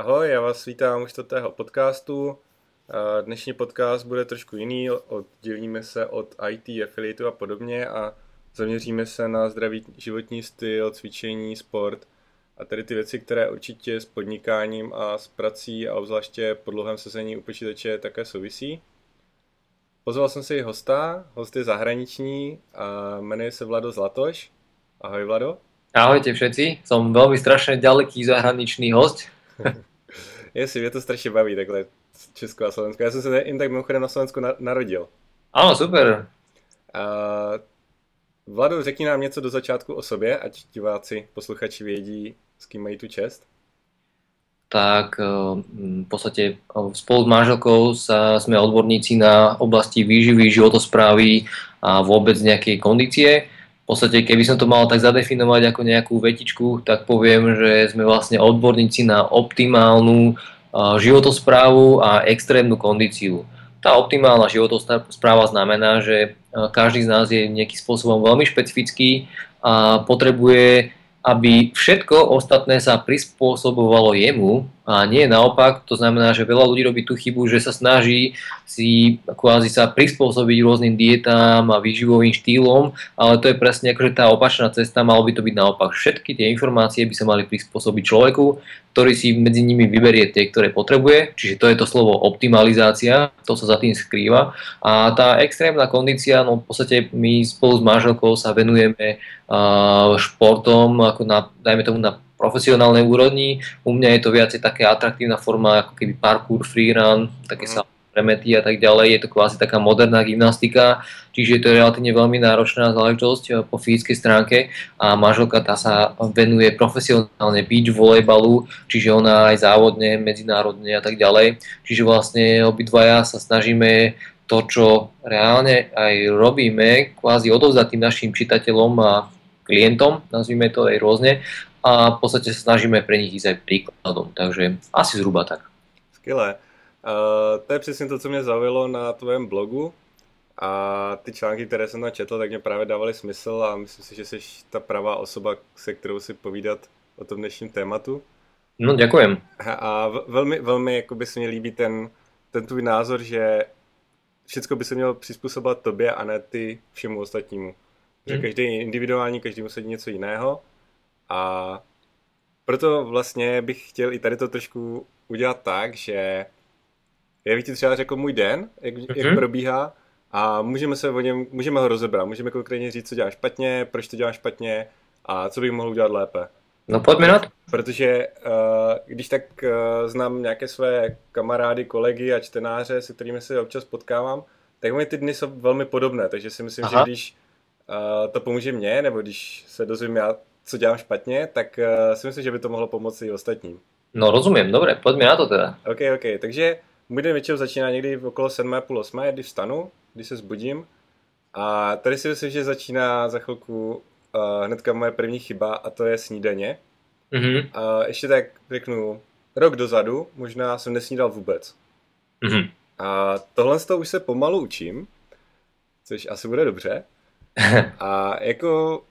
Ahoj, já vás vítám u čtvrtého podcastu. Dnešní podcast bude trošku jiný, oddělíme se od IT, affiliatu a podobně a zaměříme se na zdravý životní styl, cvičení, sport a tedy ty věci, které určitě s podnikáním a s prací a obzvláště po dlouhém sezení u počítače také souvisí. Pozval jsem si hosta, host je zahraniční a jmenuje se Vlado Zlatoš. Ahoj Vlado. Ahojte všetci, som veľmi strašne ďaleký zahraničný host. Jestli, mě to strašně baví takhle Česko a Slovensko. Já jsem se jen tak mimochodem na Slovensku narodil. Áno, super. Vlado, řekni nám něco do začátku o sobě, ať diváci, posluchači vědí, s kým mají tu čest. Tak v podstate spolu s manželkou sme odborníci na oblasti výživy, životosprávy a vôbec nejakej kondície. V podstate, keby som to mal tak zadefinovať ako nejakú vetičku, tak poviem, že sme vlastne odborníci na optimálnu životosprávu a extrémnu kondíciu. Tá optimálna životospráva znamená, že každý z nás je nejakým spôsobom veľmi špecifický a potrebuje, aby všetko ostatné sa prispôsobovalo jemu a nie naopak. To znamená, že veľa ľudí robí tú chybu, že sa snaží si kvázi sa prispôsobiť rôznym dietám a výživovým štýlom, ale to je presne akože tá opačná cesta, malo by to byť naopak. Všetky tie informácie by sa mali prispôsobiť človeku, ktorý si medzi nimi vyberie tie, ktoré potrebuje, čiže to je to slovo optimalizácia, to sa za tým skrýva. A tá extrémna kondícia, no v podstate my spolu s manželkou sa venujeme športom, ako dajme tomu na profesionálnej úrovni. U mňa je to viacej také atraktívna forma, ako keby parkour, freerun, také sa premety a tak ďalej. Je to kvázi taká moderná gymnastika, čiže je to relatívne veľmi náročná záležitosť po fyzickej stránke a manželka tá sa venuje profesionálne beach volejbalu, čiže ona aj závodne, medzinárodne a tak ďalej. Čiže vlastne obidvaja sa snažíme to, čo reálne aj robíme, kvázi odovzdať tým našim čitateľom a klientom, nazvime to aj rôzne, a v podstate sa snažíme pre nich ísť aj príkladom, takže asi zhruba tak. Skvělé. To je přesně to, co mě zaujalo na tvém blogu a ty články, které jsem tam četl, tak mě právě dávaly smysl a myslím si, že jsi ta pravá osoba, se kterou si povídat o tom dnešním tématu. No, ďakujem. A velmi, velmi jakoby se mi líbí ten tvůj názor, že všechno by se mělo přizpůsobovat tobě a ne ty všemu ostatnímu. Že každý je individuální, každý musí něco jiného a proto vlastně bych chtěl i tady to trošku udělat tak, že já bych ti třeba řekl můj den, jak probíhá a můžeme ho rozebrat, můžeme konkrétně říct, co dělám špatně, proč to dělám špatně a co bych mohl udělat lépe. No pojďme na to. Protože když tak znám nějaké své kamarády, kolegy a čtenáře, se kterými se občas potkávám, tak mi ty dny jsou velmi podobné, takže si myslím, že když to pomůže mně, nebo když se dozvím já, co dělám špatně, tak si myslím, že by to mohlo pomoci i ostatním. No rozumím, dobre, poďme na to teda. OK, takže můj den většinou začíná někdy okolo 7:30, 8, když vstanu, když se zbudím a tady si myslím, že začíná za chvilku hnedka moje první chyba a to je snídaně. A ještě tak řeknu, rok dozadu možná jsem nesnídal vůbec. A tohle z toho už se pomalu učím, což asi bude dobře. A jako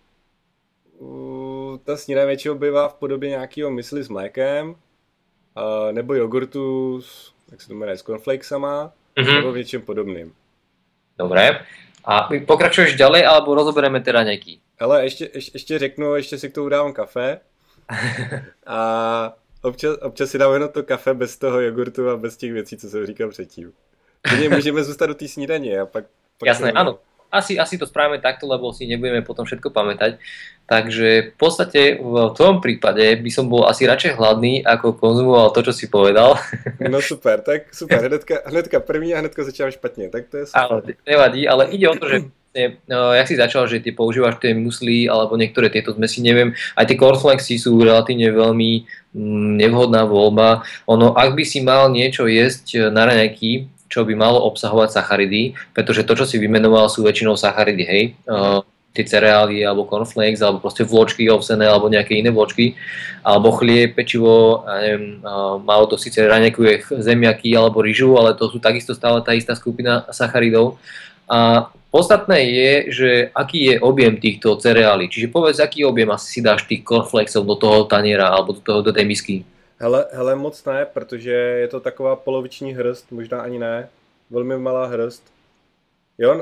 ta snídaně většinou bývá v podobě nějakého mysli s mlékem nebo jogurtu jak se to jmenuje, s cornflakesama nebo něčím podobným. Dobre. A pokračuješ ďalej alebo rozoberieme teda nejaký? Ale ještě řeknu, ještě si k tomu dávám kafe a občas si dám jenom to kafe bez toho jogurtu a bez těch věcí, co jsem říkal předtým. Můžeme zůstat do té snídaně a pak Jasné, áno. Asi to spravíme takto, lebo si nebudeme potom všetko pamätať. Takže v podstate v tvojom prípade by som bol asi radšej hladný, ako konzumoval to, čo si povedal. No super, tak super. Hnedka první a hnedka začínám špatně, tak to je super. Ale nevadí, ale ide o to, že jak si začal, že ty používaš tie musly alebo niektoré tieto zmesi, neviem, aj tie cornflakesy sú relatívne veľmi nevhodná voľba. Ak by si mal niečo jesť na raňajky, čo by malo obsahovať sacharidy, pretože to, čo si vymenoval, sú väčšinou sacharidy, hej, tie cereály, alebo cornflakes, alebo proste vločky ovsené, alebo nejaké iné vločky, alebo chlieb, pečivo, ja neviem, malo to síce raňajkuje zemiaky alebo ryžu, ale to sú takisto stále tá istá skupina sacharidov. A podstatné je, že aký je objem týchto cereálí, čiže povedz, aký objem asi si dáš tých cornflakesov do toho taniera, alebo do tej misky. Hele, moc ne, protože je to taková poloviční hrst, možná ani ne, velmi malá hrst. Jo,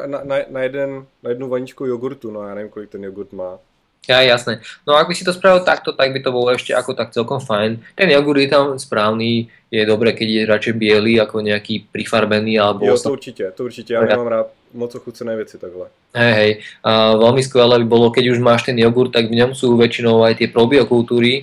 na jednu vaničku jogurtu, no já nevím, kolik ten jogurt má. Ja, jasné. No ak by si to spravil takto, tak by to bolo ešte ako tak celkom fajn. Ten jogurt je tam správny, je dobré, keď je radšej biely ako nejaký prifarbený alebo Jo, to určitě, já nemám rád moc ochucené věci takhle. hej. A veľmi skvelé by bolo, keď už máš ten jogurt, tak v ňom sú väčšinou aj tie probiokultúry.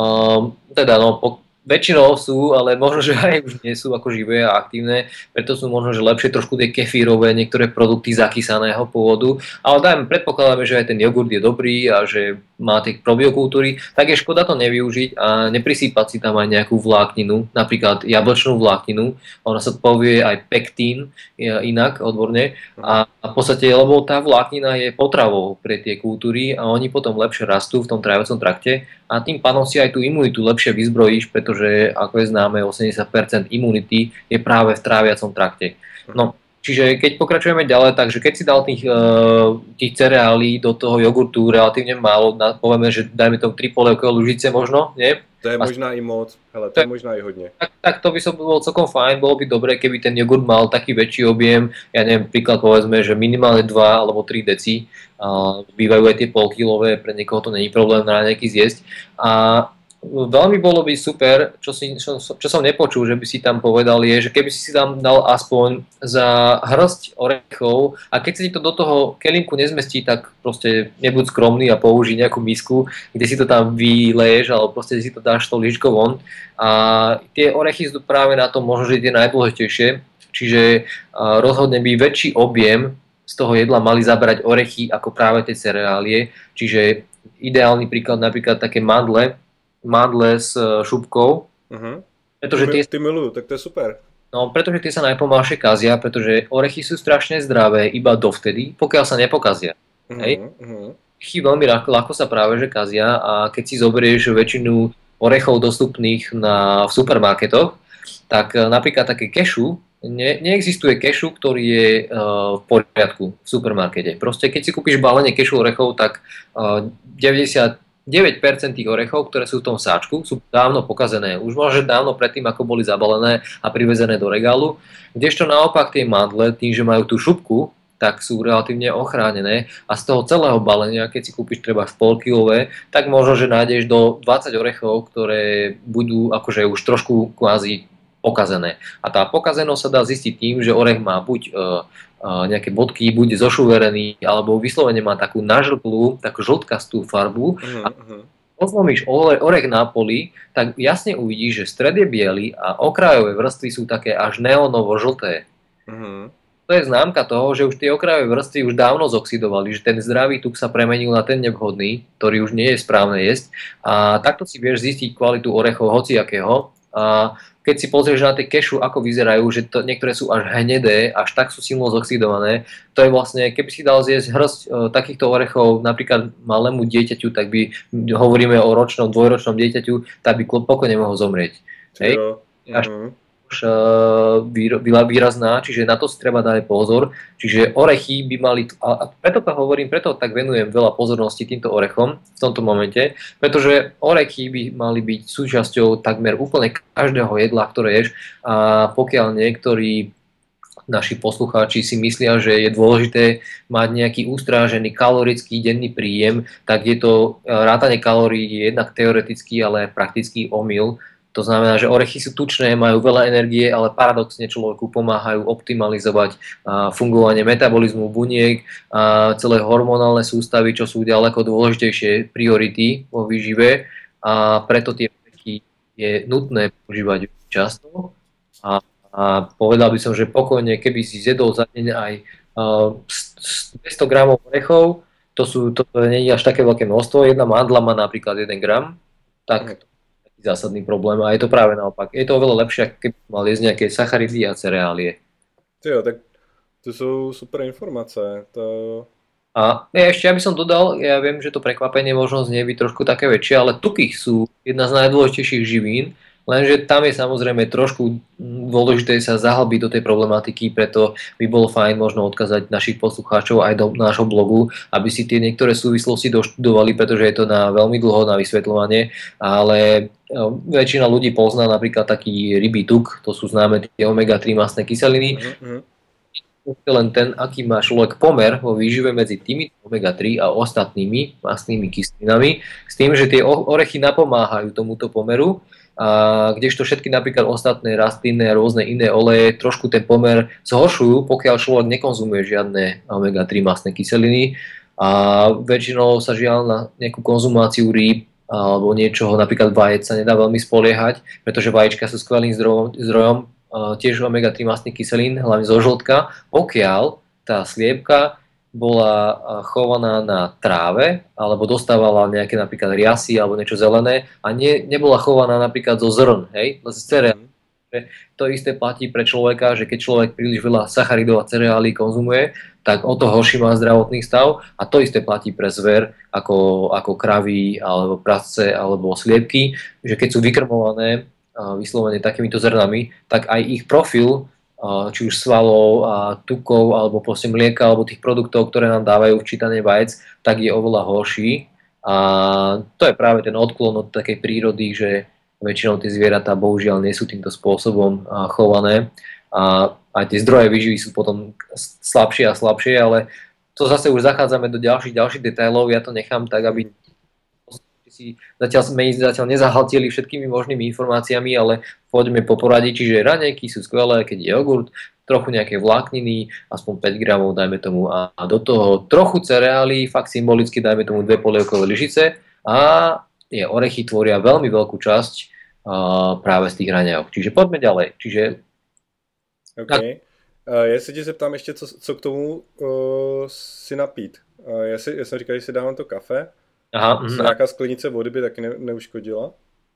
Teda no, väčšinou sú, ale možno, že aj už nie sú ako živé a aktívne, preto sú možno, že lepšie trošku tie kefírové, niektoré produkty zakysaného pôvodu, ale predpokladáme, že aj ten jogurt je dobrý a že má tie probiokultúry, tak je škoda to nevyužiť a neprisýpať si tam aj nejakú vlákninu, napríklad jablčnú vlákninu, ona sa povie aj pektín, inak odborne, a v podstate, lebo tá vláknina je potravou pre tie kultúry a oni potom lepšie rastú v tom tráviacom trakte a tým pádom si aj tú imunitu lepšie vyzbrojíš, pretože ako je známe, 80% imunity je práve v tráviacom trakte. No, čiže keď pokračujeme ďalej, takže keď si dal tých cereálí do toho jogurtu relatívne málo, povieme, že dajme tomu 3 polievkové lúžice možno, nie? To je možná i moc, hele, to je možná i hodně. Tak to by som bolo celkom fajn, bolo by dobré, keby ten jogurt mal taký väčší objem, ja neviem, príklad povedzme, že minimálne 2 alebo 3 deci, bývajú aj tie polkilové, pre niekoho to není problém na nejaký zjesť. A veľmi bolo by super, čo som nepočul, že by si tam povedal, je, že keby si tam dal aspoň za hrst orechov a keď sa ti to do toho kelímku nezmestí, tak proste nebuď skromný a použij nejakú misku, kde si to tam vyleješ alebo proste si to dáš tou lyžkou von. A tie orechy sú práve na tom možno, že tie najdôležitejšie, čiže rozhodne by väčší objem z toho jedla mali zabrať orechy ako práve tie cereálie, čiže ideálny príklad napríklad také mandle s šupkou. Pretože ty milujú, tak to je super. No, pretože tie sa najpomalšie kazia, pretože orechy sú strašne zdravé iba dovtedy, pokiaľ sa nepokazia. Orechy veľmi ľahko sa práve že kazia a keď si zoberieš väčšinu orechov dostupných v supermarketoch, tak napríklad také kešu, neexistuje kešu, ktorý je v poriadku v supermarkete. Proste keď si kúpiš balenie kešu orechov, tak 99% tých orechov, ktoré sú v tom sáčku, sú dávno pokazené. Už možno dávno predtým, ako boli zabalené a privezené do regálu. Kdežto naopak tie mandle, tým, že majú tú šupku, tak sú relatívne ochránené a z toho celého balenia, keď si kúpiš treba polkilové, tak možno, že nájdeš do 20 orechov, ktoré budú akože už trošku kvázi pokazené. A tá pokazenosť sa dá zistiť tým, že orech má buď nejaké bodky, bude zošuverený, alebo vyslovene má takú nažlklú, takú žltkastú farbu. A pozlomíš orech na poli, tak jasne uvidíš, že stred je biely a okrajové vrstvy sú také až neonovo žlté. To je známka toho, že už tie okrajové vrstvy už dávno zoxidovali, že ten zdravý tuk sa premenil na ten nevhodný, ktorý už nie je správne jesť. A takto si vieš zistiť kvalitu orechov hociakého. A keď si pozrieš na tie kešu, ako vyzerajú, že niektoré sú až hnedé, až tak sú silno zoxidované, to je vlastne, keby si dal zjesť hrst takýchto orechov napríklad malému dieťaťu, tak by, hovoríme o ročnom, dvojročnom dieťaťu, tak by pokojne mohol zomrieť. Hej? Už výrazná, čiže na to si treba dať pozor. Čiže orechy by mali, a preto to hovorím, preto tak venujem veľa pozornosti týmto orechom v tomto momente, pretože orechy by mali byť súčasťou takmer úplne každého jedla, ktoré ješ, a pokiaľ niektorí naši poslucháči si myslia, že je dôležité mať nejaký ustrážený kalorický denný príjem, tak je to rátanie kalórií jednak teoretický, ale praktický omyl. To znamená, že orechy sú tučné, majú veľa energie, ale paradoxne človeku pomáhajú optimalizovať fungovanie metabolizmu buniek, celé hormonálne sústavy, čo sú ďaleko dôležitejšie priority vo výžive, a preto tie orechy je nutné používať často. A povedal by som, že pokojne, keby si zjedol za deň aj 200 gramov orechov, to nie je až také veľké množstvo, jedna mandla má napríklad 1 gram, tak zásadný problém a je to práve naopak. Je to oveľa lepšie, ako keby mal jesť nejaké sacharidy a cereálie. Jo, tak to sú super informácie. A ešte, aby som dodal, ja viem, že to prekvapenie možno znie byť trošku také väčšie, ale tuky sú jedna z najdôležitejších živín Lenže tam je samozrejme trošku dôležité sa zahlbiť do tej problematiky, preto by bolo fajn možno odkázať našich poslucháčov aj do nášho blogu, aby si tie niektoré súvislosti doštudovali, pretože je to na veľmi dlho na vysvetľovanie, ale väčšina ľudí pozná napríklad taký rybí tuk, to sú známe tie omega-3 mastné kyseliny. Len ten, aký má človek pomer vo výžive medzi tými omega-3 a ostatnými mastnými kyselinami, s tým, že tie orechy napomáhajú tomuto pomeru, a kdežto všetky napríklad ostatné rastlinné a rôzne iné oleje trošku ten pomer zhoršujú, pokiaľ človek nekonzumuje žiadne omega-3 mastné kyseliny, a väčšinou sa žiaľ na nejakú konzumáciu rýb alebo niečoho, napríklad vajec sa nedá veľmi spoliehať, pretože vajíčka sú skvelým zdrojom tiež omega-3 mastných kyselín, hlavne zo žltka, pokiaľ tá sliepka bola chovaná na tráve alebo dostávala nejaké napríklad riasy alebo niečo zelené a nebola chovaná napríklad zo zrn, hej, z cereálí. To isté platí pre človeka, že keď človek príliš veľa sacharidov a cereálí konzumuje, tak o to horší má zdravotný stav, a to isté platí pre zver, ako kravy alebo prasce alebo sliepky, že keď sú vykrmované vyslovene takýmito zrnami, tak aj ich profil, či už svalov, tukov, alebo proste mlieka, alebo tých produktov, ktoré nám dávajú včítanie vajec, tak je oveľa horší. A to je práve ten odklon od takej prírody, že väčšinou tie zvieratá bohužiaľ nie sú týmto spôsobom chované. A tie zdroje výživy sú potom slabšie a slabšie, ale to zase už zachádzame do ďalších detailov, ja to nechám tak, aby si zatiaľ nezahltili všetkými možnými informáciami, ale poďme po poradí, čiže raňajky sú skvelé, keď je jogurt, trochu nejaké vlákniny, aspoň 5 gramov dajme tomu, a do toho trochu cereálií, fakt symbolicky dajme tomu 2 polievkové lyžice, a tie orechy tvoria veľmi veľkú časť práve z tých raňajok. Čiže poďme ďalej. OK. Já se tě zeptám ještě, co k tomu si napít. Já jsem říkal, že si dávám to kafe. Aha, nějaká sklenice vody by taky neuškodila?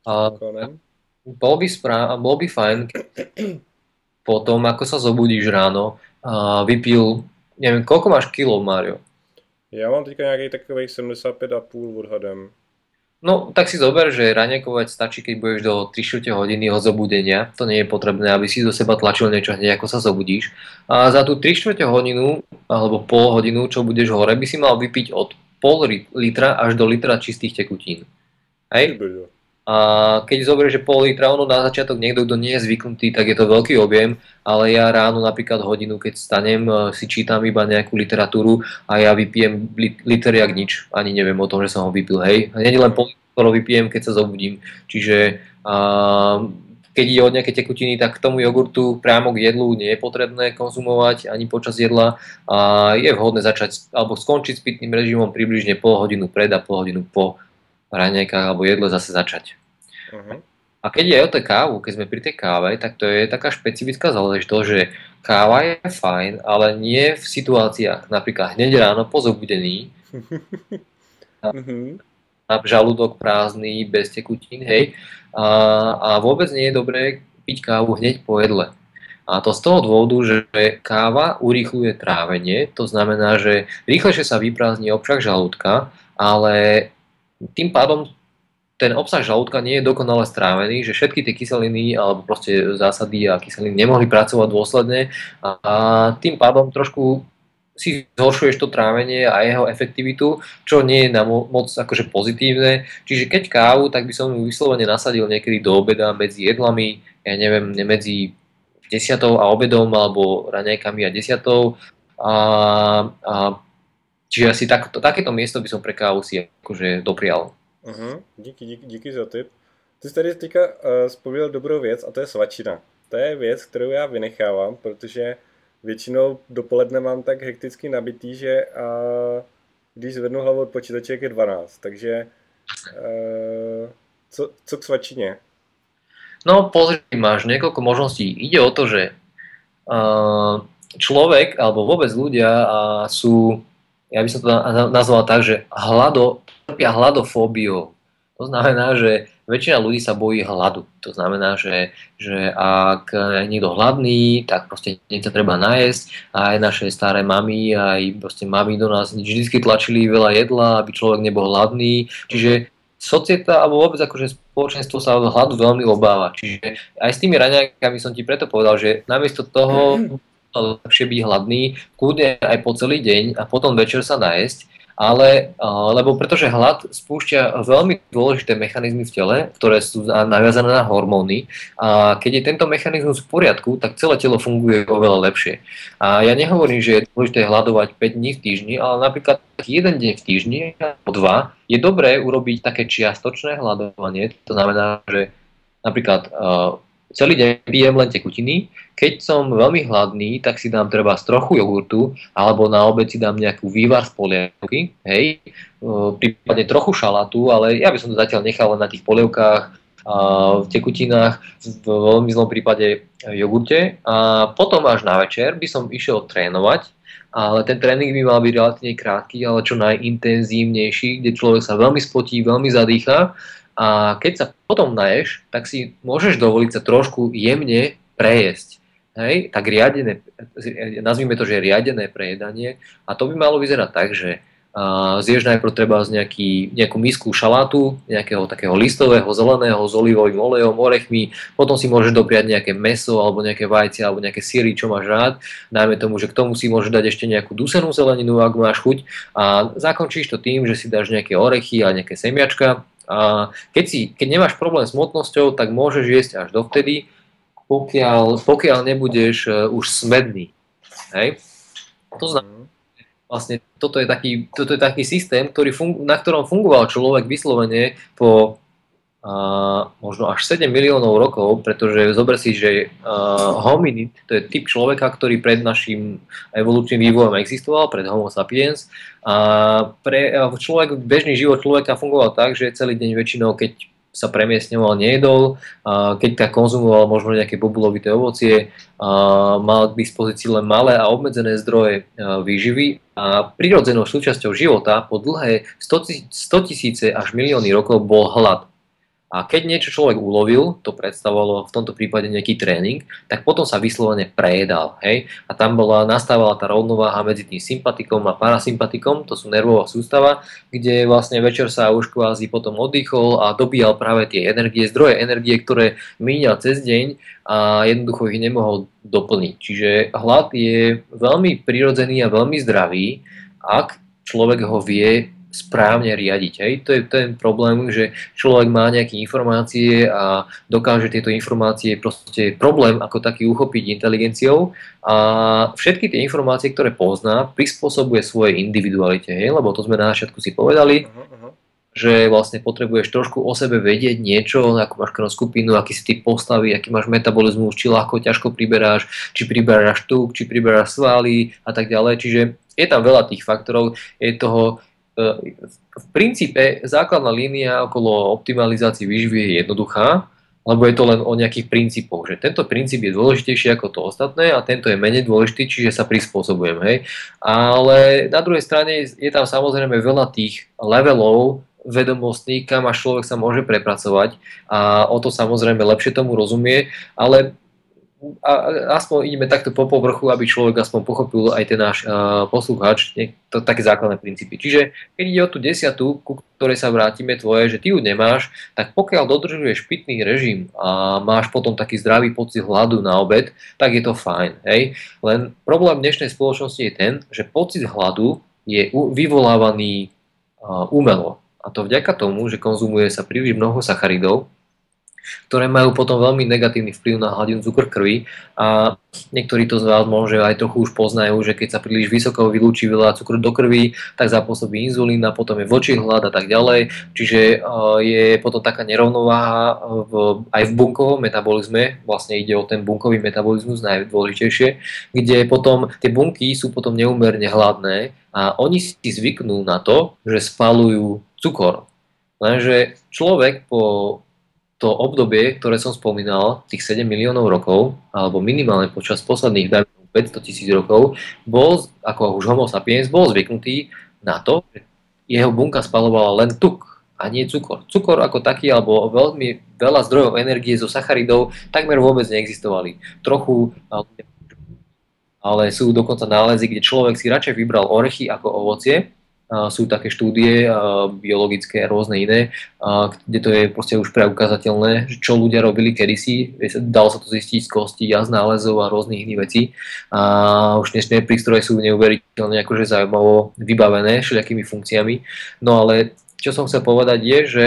Bol by fajn, potom, ako sa zobudíš ráno, vypil, neviem, koľko máš kilov, Mário? Já mám teďka nějakých takových 75,5 odhadem. No, tak si zober, že raňajkovať stačí, keď budeš do 3/4 hodiny od zobudenia. To nie je potrebné, aby si do seba tlačil niečo hneď, ako sa zobudíš. A za tú 3/4 hodinu, alebo pol hodinu, čo budeš hore, by si mal vypiť od pol litra až do litra čistých tekutín. Hej? A keď zoberieš, že pol litra, ono na začiatok niekto, kto nie je zvyknutý, tak je to veľký objem, ale ja ráno napríklad hodinu, keď stanem, si čítam iba nejakú literatúru a ja vypijem liter jak nič. Ani neviem o tom, že som ho vypil, hej. A nie len pol litra vypijem, keď sa zobudím. Čiže keď ide o nejaké tekutiny, tak k tomu jogurtu priamo k jedlu nie je potrebné konzumovať ani počas jedla. A je vhodné začať alebo skončiť s pitným režimom približne pol hodinu pred a pol hodinu po raňajkách alebo jedle zase začať. A keď je o tej kávu, keď sme pri tej káve, tak to je taká špecifická záležitosť, že káva je fajn, ale nie v situáciách napríklad hneď ráno po zobudení, na žalúdok prázdny, bez tekutín, hej. A vôbec nie je dobré piť kávu hneď po jedle. A to z toho dôvodu, že káva urýchľuje trávenie, to znamená, že rýchlejšie sa vyprázdni obsah žalúdka, ale tým pádom ten obsah žalúdka nie je dokonale strávený, že všetky tie kyseliny alebo proste zásady a kyseliny nemohli pracovať dôsledne a tým pádom trošku si zhoršuješ to trávenie a jeho efektivitu, čo nie je na moc akože pozitívne. Čiže keď kávu, tak by som ju vyslovene nasadil niekedy do obeda medzi jedlami, ja neviem, medzi 10 a obedom alebo raňajkami a 10. Čiže asi takéto miesto by som pre kávu si akože doprial. Díky za tip. Ty jsi tady teďka vzpomněl dobrou věc a to je svačina. To je věc, kterou já vynechávám, protože většinou dopoledne mám tak hekticky nabitý, že když zvednu hlavu od počítače, je 12. Takže co k svačině? No pozri, máš niekoľko možností. Ide o to, že človek alebo vôbec ľudia sú, ja by som to nazval tak, že trpia hladofóbiou. To znamená, že väčšina ľudí sa bojí hladu. To znamená, že ak je niekto hladný, tak proste niečo treba najesť. A aj naše staré mamy, aj proste mamy do nás vždy tlačili veľa jedla, aby človek nebol hladný. Čiže societa alebo vôbec akože spoločenstvo sa hladu veľmi obáva. Čiže aj s tými raňajkami som ti preto povedal, že namiesto toho lepšie byť hladný, kľudne aj po celý deň a potom večer sa najesť, ale lebo pretože hlad spúšťa veľmi dôležité mechanizmy v tele, ktoré sú naviazané na hormóny a keď je tento mechanizmus v poriadku, tak celé telo funguje oveľa lepšie. A ja nehovorím, že je dôležité hľadovať 5 dní v týždni, ale napríklad jeden deň v týždni alebo 2 je dobré urobiť také čiastočné hľadovanie. To znamená, že napríklad celý deň pijem len tekutiny, keď som veľmi hladný, tak si dám treba trochu jogurtu, alebo na obed si dám nejakú vývar z polievky, hej, prípadne trochu šalátu, ale ja by som to zatiaľ nechal len na tých polievkách, v tekutinách, v veľmi zlom prípade jogurte a potom až na večer by som išiel trénovať, ale ten tréning by mal byť relatívne krátky, ale čo najintenzívnejší, kde človek sa veľmi spotí, veľmi zadýcha. A keď sa potom naješ, tak si môžeš dovoliť sa trošku jemne prejesť. Hej? Tak riadené, nazvime to, že riadené prejedanie. A to by malo vyzerať tak, že zješ najprv treba z nejakú misku šalátu, nejakého takého listového, zeleného, s olivovým olejom, orechmi, potom si môžeš dopriať nejaké mäso, alebo nejaké vajce, alebo nejaké syry, čo máš rád. Dajme tomu, že k tomu si môžeš dať ešte nejakú dusenú zeleninu, ak máš chuť. A zakončíš to tým, že si dáš nejaké orechy a nejaké semiačka. A keď nemáš problém s hmotnosťou, tak môžeš jesť až dovtedy, pokiaľ nebudeš už smedný. Hej? To znamená, vlastne toto je taký systém, na ktorom fungoval človek vyslovene po možno až 7 miliónov rokov, pretože zober si, že hominid, to je typ človeka, ktorý pred našim evolučným vývojom existoval, pred Homo sapiens. A bežný život človeka fungoval tak, že celý deň väčšinou, keď sa premiestňoval, nejedol, keď tak konzumoval možno nejaké bobulovité ovocie, mal k dispozícii len malé a obmedzené zdroje výživy a prirodzenou súčasťou života po dlhé 100 000 až milióny rokov bol hlad. A keď niečo človek ulovil, to predstavovalo v tomto prípade nejaký tréning, tak potom sa vyslovene prejedal. Hej? A tam nastávala tá rovnováha medzi tým sympatikom a parasympatikom, to sú nervová sústava, kde vlastne večer sa už kvázi potom oddychol a dobíjal práve tie zdroje energie, ktoré míňal cez deň a jednoducho ich nemohol doplniť. Čiže hlad je veľmi prirodzený a veľmi zdravý, ak človek ho vie správne riadiť. Hej. To je ten problém, že človek má nejaké informácie a dokáže tieto informácie proste problém ako taký uchopiť inteligenciou a všetky tie informácie, ktoré pozná, prispôsobuje svojej individualite. Hej. Lebo to sme na začiatku si povedali, že vlastne potrebuješ trošku o sebe vedieť niečo, ako máš krvnú skupinu, aký si typ postavy, aký máš metabolizmus, či ľahko, ťažko priberáš, či priberáš tuk, či priberáš svaly a tak ďalej. Čiže je tam veľa tých faktorov, je toho v princípe základná línia okolo optimalizácie výživy je jednoduchá, lebo je to len o nejakých princípoch, že tento princíp je dôležitejší ako to ostatné a tento je menej dôležitý, čiže sa prispôsobujem. Hej. Ale na druhej strane je tam samozrejme veľa tých levelov vedomostí, kam až človek sa môže prepracovať a o to samozrejme lepšie tomu rozumie, ale aspoň ideme takto po povrchu, aby človek aspoň pochopil aj ten náš poslucháč, to také základné princípy. Čiže keď ide o tú 10, ku ktorej sa vrátime tvoje, že ty ju nemáš, tak pokiaľ dodržuješ pitný režim a máš potom taký zdravý pocit hladu na obed, tak je to fajn. Hej? Len problém dnešnej spoločnosti je ten, že pocit hladu je vyvolávaný umelo. A to vďaka tomu, že konzumuje sa príliš mnoho sacharidov, ktoré majú potom veľmi negatívny vplyv na hladinu cukru krvi a niektorí to z vás možno aj trochu už poznajú, že keď sa príliš vysoko vylúči veľa cukru do krvi, tak zapôsobí inzulín a potom je vlčí hlad a tak ďalej, čiže je potom taká nerovnováha aj v bunkovom metabolizme, vlastne ide o ten bunkový metabolizmus najdôležitejšie, kde potom tie bunky sú potom neúmerne hladné a oni si zvyknú na to, že spaľujú cukor. Lenže človek po to obdobie, ktoré som spomínal, tých 7 miliónov rokov, alebo minimálne počas posledných 500 000 rokov, bol, ako už Homo sapiens, bol zvyknutý na to, že jeho bunka spaľovala len tuk a nie cukor. Cukor ako taký, alebo veľmi veľa zdrojov energie zo sacharidov takmer vôbec neexistovali. Trochu, ale sú dokonca nálezy, kde človek si radšej vybral orechy ako ovocie, sú také štúdie biologické a rôzne iné, kde to je proste už preukázateľné, čo ľudia robili kedysi. Dalo sa to zistiť z kostí, jazz nálezov a rôznych iných vecí. A už dnešné prístroje sú neuveriteľne akože zaujímavo vybavené všelijakými funkciami. No ale čo som chcel povedať je, že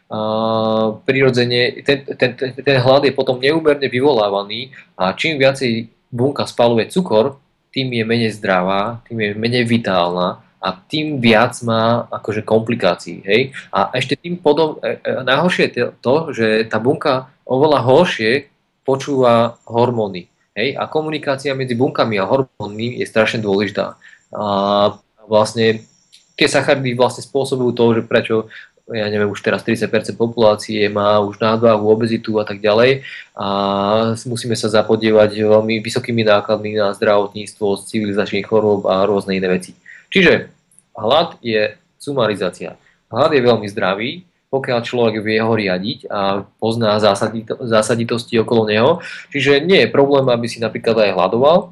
prirodzene ten hlad je potom neúmerne vyvolávaný a čím viacej bunka spaluje cukor, tým je menej zdravá, tým je menej vitálna a tým viac má akože komplikácií. Hej? A ešte tým najhoršie je to, že tá bunka oveľa horšie počúva hormóny. Hej? A komunikácia medzi bunkami a hormónmi je strašne dôležitá. A vlastne tie sacharidy vlastne spôsobujú to, že prečo ja neviem, už teraz 30% populácie má už nadváhu, obezitu a tak ďalej a musíme sa zapodievať veľmi vysokými nákladmi na zdravotníctvo, civilizačných chorôb a rôzne iné veci. Čiže hlad je sumarizácia. Hlad je veľmi zdravý, pokiaľ človek vie ho riadiť a pozná zásaditosti okolo neho. Čiže nie je problém, aby si napríklad aj hladoval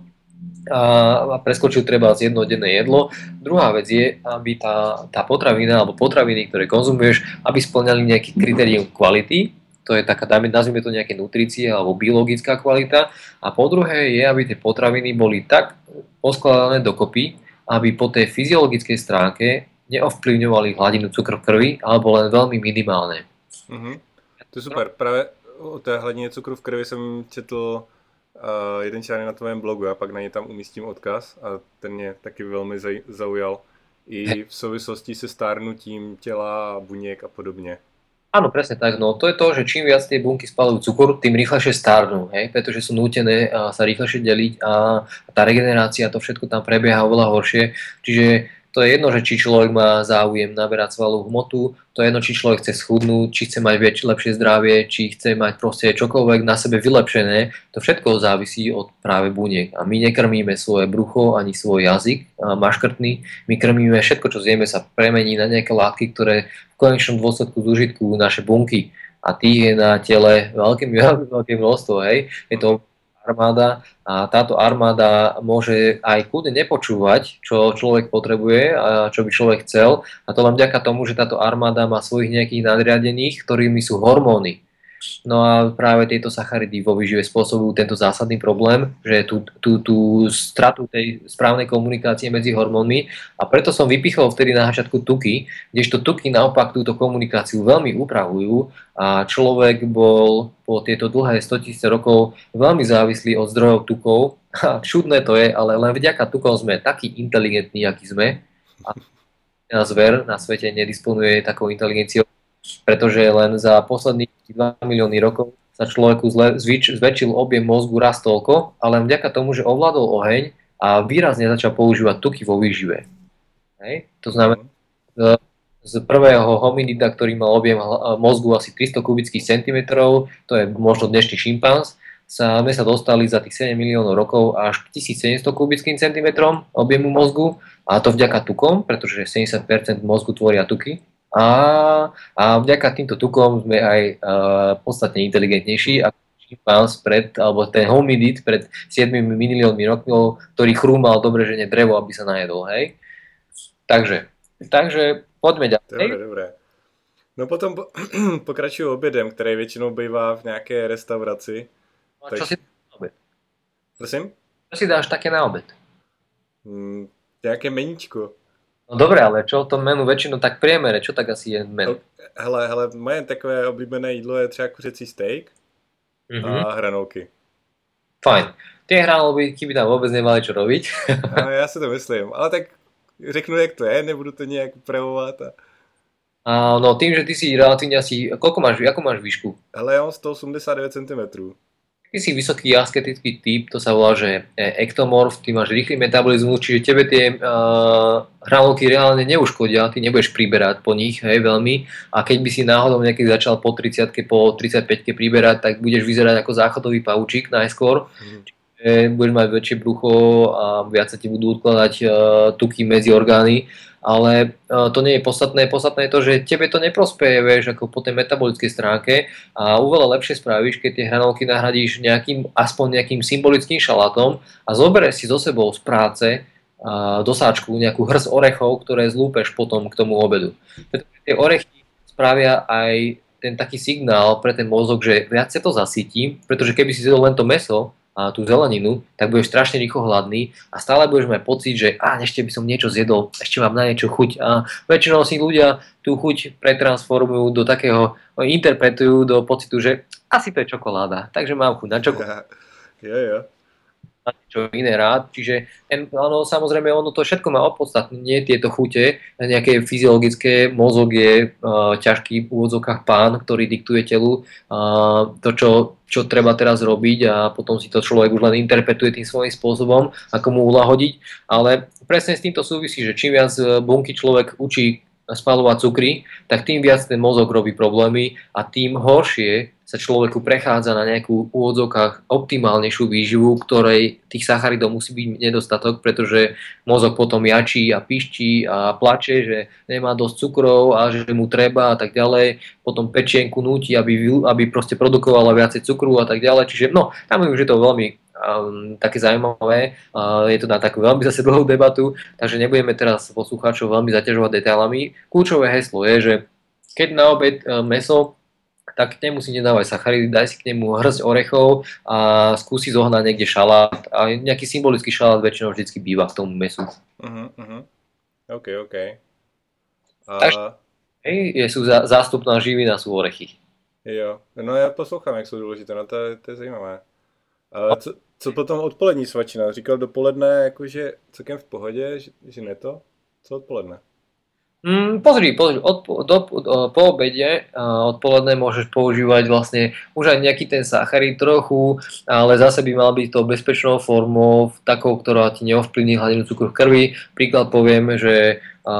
a preskočil treba z jednodenné jedlo. Druhá vec je, aby tá potravina alebo potraviny, ktoré konzumuješ, aby spĺňali nejaký kritérium kvality, to je taká, nazvime to nejaké nutrície alebo biologická kvalita. A po druhé je, aby tie potraviny boli tak poskladané dokopy, aby po tej fyziologickej stránke neovplyvňovali hladinu cukru v krvi alebo len veľmi minimálne. To je super. Právě o té hladině cukru v krvi jsem četl jeden článek na tvém blogu a pak na ně tam umístím odkaz a ten mě taky velmi zaujal i v souvislosti se stárnutím těla, buněk a podobně. Áno, presne tak. No to je to, že čím viac tie bunky spalujú cukor, tým rýchlejšie starnú, hej? Pretože sú nútené sa rýchlejšie deliť a tá regenerácia, to všetko tam prebieha oveľa horšie. Čiže to je jedno, že či človek má záujem naberať svalovú hmotu, to je jedno, či človek chce schudnúť, či chce mať lepšie zdravie, či chce mať proste čokoľvek na sebe vylepšené, to všetko závisí od práve buniek. A my nekrmíme svoje brucho ani svoj jazyk maškrtný, my krmíme všetko, čo zjeme, sa premení na nejaké látky, ktoré v konečnom dôsledku zúžitkujú naše bunky. A tých je na tele veľké množstvo, hej. Je to armáda a táto armáda môže aj kľudne nepočúvať, čo človek potrebuje a čo by človek chcel, a to len vďaka tomu, že táto armáda má svojich nejakých nadriadených, ktorými sú hormóny. No a práve tieto sacharidy vo výžive spôsobujú tento zásadný problém, že tú stratu tej správnej komunikácie medzi hormónmi, a preto som vypichol vtedy na začiatku tuky, kdežto tuky naopak túto komunikáciu veľmi upravujú a človek bol po tieto dlhé 100 000 rokov veľmi závislý od zdrojov tukov. A čudné to je, ale len vďaka tukom sme takí inteligentní, akí sme. A zver na svete nedisponuje takou inteligenciou, pretože len za posledných 2 milióny rokov sa človeku zväčšil objem mozgu raz toľko, ale len vďaka tomu, že ovládol oheň a výrazne začal používať tuky vo výžive. Hej? To znamená, z prvého hominida, ktorý mal objem mozgu asi 300 kubických centimetrov, to je možno dnešný šimpanz, sme sa dostali za tých 7 miliónov rokov až k 1700 kubickým centimetrom objemu mozgu, a to vďaka tukom, pretože 70% mozgu tvoria tuky. A vďaka týmto tukom sme aj podstatne inteligentnejší ako šimpanz alebo ten hominid pred 7 miliónmi rokov, ktorý chrúmal dobre žene drevo, aby sa najedol, hej. Takže poďme ďalej. Dobré. No potom pokračuju obědem, který většinou bývá v nějaké restauraci. A čo si dáš na obed? Prosím? Čo si dáš také na obed? Nějaké meníčko. No dobré, ale čo to menu väčšinou tak priemere, čo tak asi je menu? Hele, moje takové oblíbené jídlo je třeba kuřecí steak a hranolky. Fajn. Tie hranolky by tam vôbec nemali čo robiť. No, já si to myslím, ale tak řeknu, jak to je, nebudu to nějak upravovat. No tým, že ty si relatívne asi, ako máš výšku? Hele, ja mám 189 cm. Ty si vysoký asketický typ, to sa volá, že ektomorf, ty máš rýchly metabolizmus, čiže tebe tie hranolky reálne neuškodia, ty nebudeš priberať po nich, hej, veľmi, a keď by si náhodou niekedy začal po 30-ke, po 35-ke priberať, tak budeš vyzerať ako záchodový paučík najskôr, čiže budeš mať väčšie brucho a viac sa ti budú odkladať tuky medzi orgány. Ale to nie je podstatné. Podstatné je to, že tebe to neprospeje, vieš, ako po tej metabolickej stránke, a oveľa lepšie spravíš, keď tie hranolky nahradíš aspoň nejakým symbolickým šalátom a zoberieš si so sebou z práce dosáčku, nejakú hrst orechov, ktoré zlúpeš potom k tomu obedu. Pretože tie orechy spravia aj ten taký signál pre ten mozog, že viac sa to zasytím, pretože keby si zjedol len to mäso a tú zeleninu, tak budeš strašne rýchlo hladný a stále budeš mať pocit, že ešte by som niečo zjedol, ešte mám na niečo chuť. A väčšinou si ľudia tú chuť pretransformujú do takého, interpretujú do pocitu, že asi to je čokoláda, takže mám chuť na čokoládu. Jo. Na niečo iné rád, čiže samozrejme ono to všetko má opodstatnenie, tieto chute, nejaké fyziologické, mozog je ťažký v úvodzovkách pán, ktorý diktuje telu to, čo treba teraz robiť a potom si to človek už len interpretuje tým svojím spôsobom, ako mu ulahodiť, ale presne s týmto súvisí, že čím viac bunky človek učí spaľovať cukry, tak tým viac ten mozog robí problémy a tým horšie sa človeku prechádza na nejakú v úvodzovkách optimálnejšiu výživu, ktorej tých sacharidov musí byť nedostatok, pretože mozog potom jačí a pišťí a plače, že nemá dosť cukrov a že mu treba a tak ďalej. Potom pečienku núti, aby proste produkovala viacej cukru a tak ďalej. Čiže tam už je to veľmi také zaujímavé. Je to na takú veľmi zase dlhú debatu, takže nebudeme teraz poslucháčov veľmi zaťažovať detailami. Kľúčové heslo je, že keď na obed mäso, tak k nemu si nedávaj sacharidy, daj si k nemu hrsť orechov a skúsi zohnať niekde šalát. A nejaký symbolický šalát väčšinou vždycky býva v tom mäsu. OK. Takže sú zástupná živina, sú orechy. Jo, no já poslouchám, jak jsou důležité, no to je zajímavé. Ale co potom odpolední svačina? Říkal dopoledne, jakože celkem v pohodě, že ne to? Co odpoledne? Pozri, po obede odpoledne môžeš používať vlastne už aj nejaký ten sacharid trochu, ale zase by mal byť to bezpečnou formou, takou, ktorá ti neovplyvní hladinu cukru v krvi. Príklad poviem, že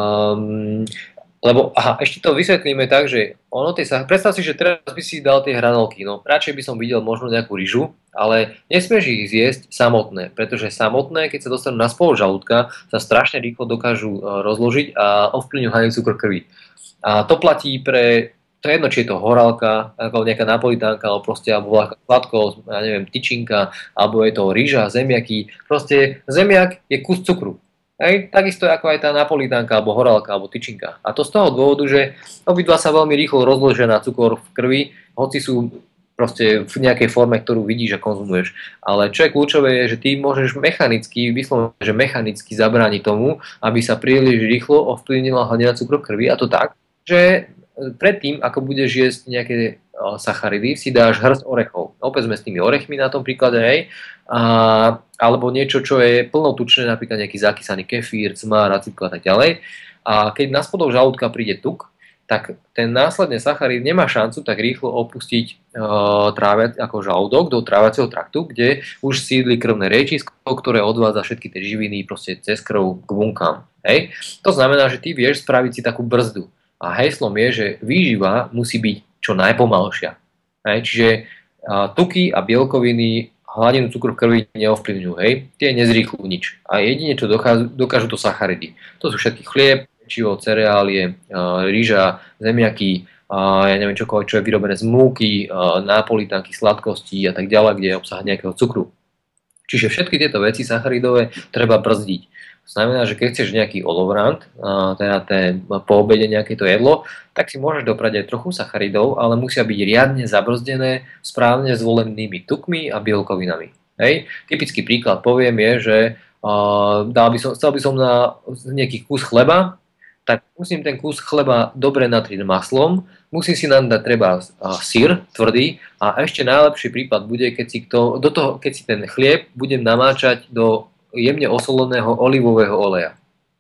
ešte to vysvetlíme tak, že predstav si, že teraz by si dal tie hranolky, radšej by som videl možno nejakú ryžu, ale nesmieš ich zjesť samotné, pretože samotné, keď sa dostanú na spolu žalúdka, sa strašne rýchlo dokážu rozložiť a ovplyvňujú hladinu cukru krvi. A to platí to je jedno, či je to horálka, alebo nejaká napolitánka, alebo sladkosť, ja neviem, tyčinka, alebo je to ryža, zemiaky. Proste zemiak je kus cukru. Takisto ako aj tá napolitánka, alebo horálka, alebo tyčinka. A to z toho dôvodu, že obidva sa veľmi rýchlo rozložia na cukor v krvi, hoci sú proste v nejakej forme, ktorú vidíš a konzumuješ. Ale čo je kľúčové je, že ty môžeš mechanicky zabrániť tomu, aby sa príliš rýchlo ovplyvnila hladina cukru v krvi, a to tak, že predtým, ako budeš jesť nejaké sacharidy, si dáš hrst orechov. Opäť sme s tými orechmi na tom príklade, alebo niečo, čo je plnotučné, napríklad nejaký zakysaný kefír, cmár, acitko a tak ďalej. A keď na spodok žalúdka príde tuk, tak ten následne sacharid nemá šancu tak rýchlo opustiť ako žalúdok do tráviaceho traktu, kde už sídli krvné riečisko, ktoré odvádza všetky tie živiny proste cez krv k bunkám. To znamená, že ty vieš spraviť si takú brzdu. A heslom je, že výživa musí byť čo najpomalšia. Čiže tuky a bielkoviny hladinu cukru v krvi neovplyvňujú. Tie nezrýchľujú nič. A jedine, čo dokážu to sacharidy. To sú všetky chlieb, pečivo, cereálie, ryža, zemiaky, ja neviem čokoľvek, čo je vyrobené z múky, napolitánky, sladkostí a tak ďalej, kde je obsah nejakého cukru. Čiže všetky tieto veci sacharidové treba brzdiť. To znamená, že keď chceš nejaký olovrant, teda po obede nejaké to jedlo, tak si môžeš doprať aj trochu sacharidov, ale musia byť riadne zabrzdené správne zvolenými tukmi a bielkovinami. Typický príklad poviem je, že chcel by som na nejaký kus chleba, tak musím ten kus chleba dobre natriť maslom, musím si nám dať treba syr tvrdý a ešte najlepší prípad bude, keď si ten chlieb budem namáčať do jemne osoleného olivového oleja.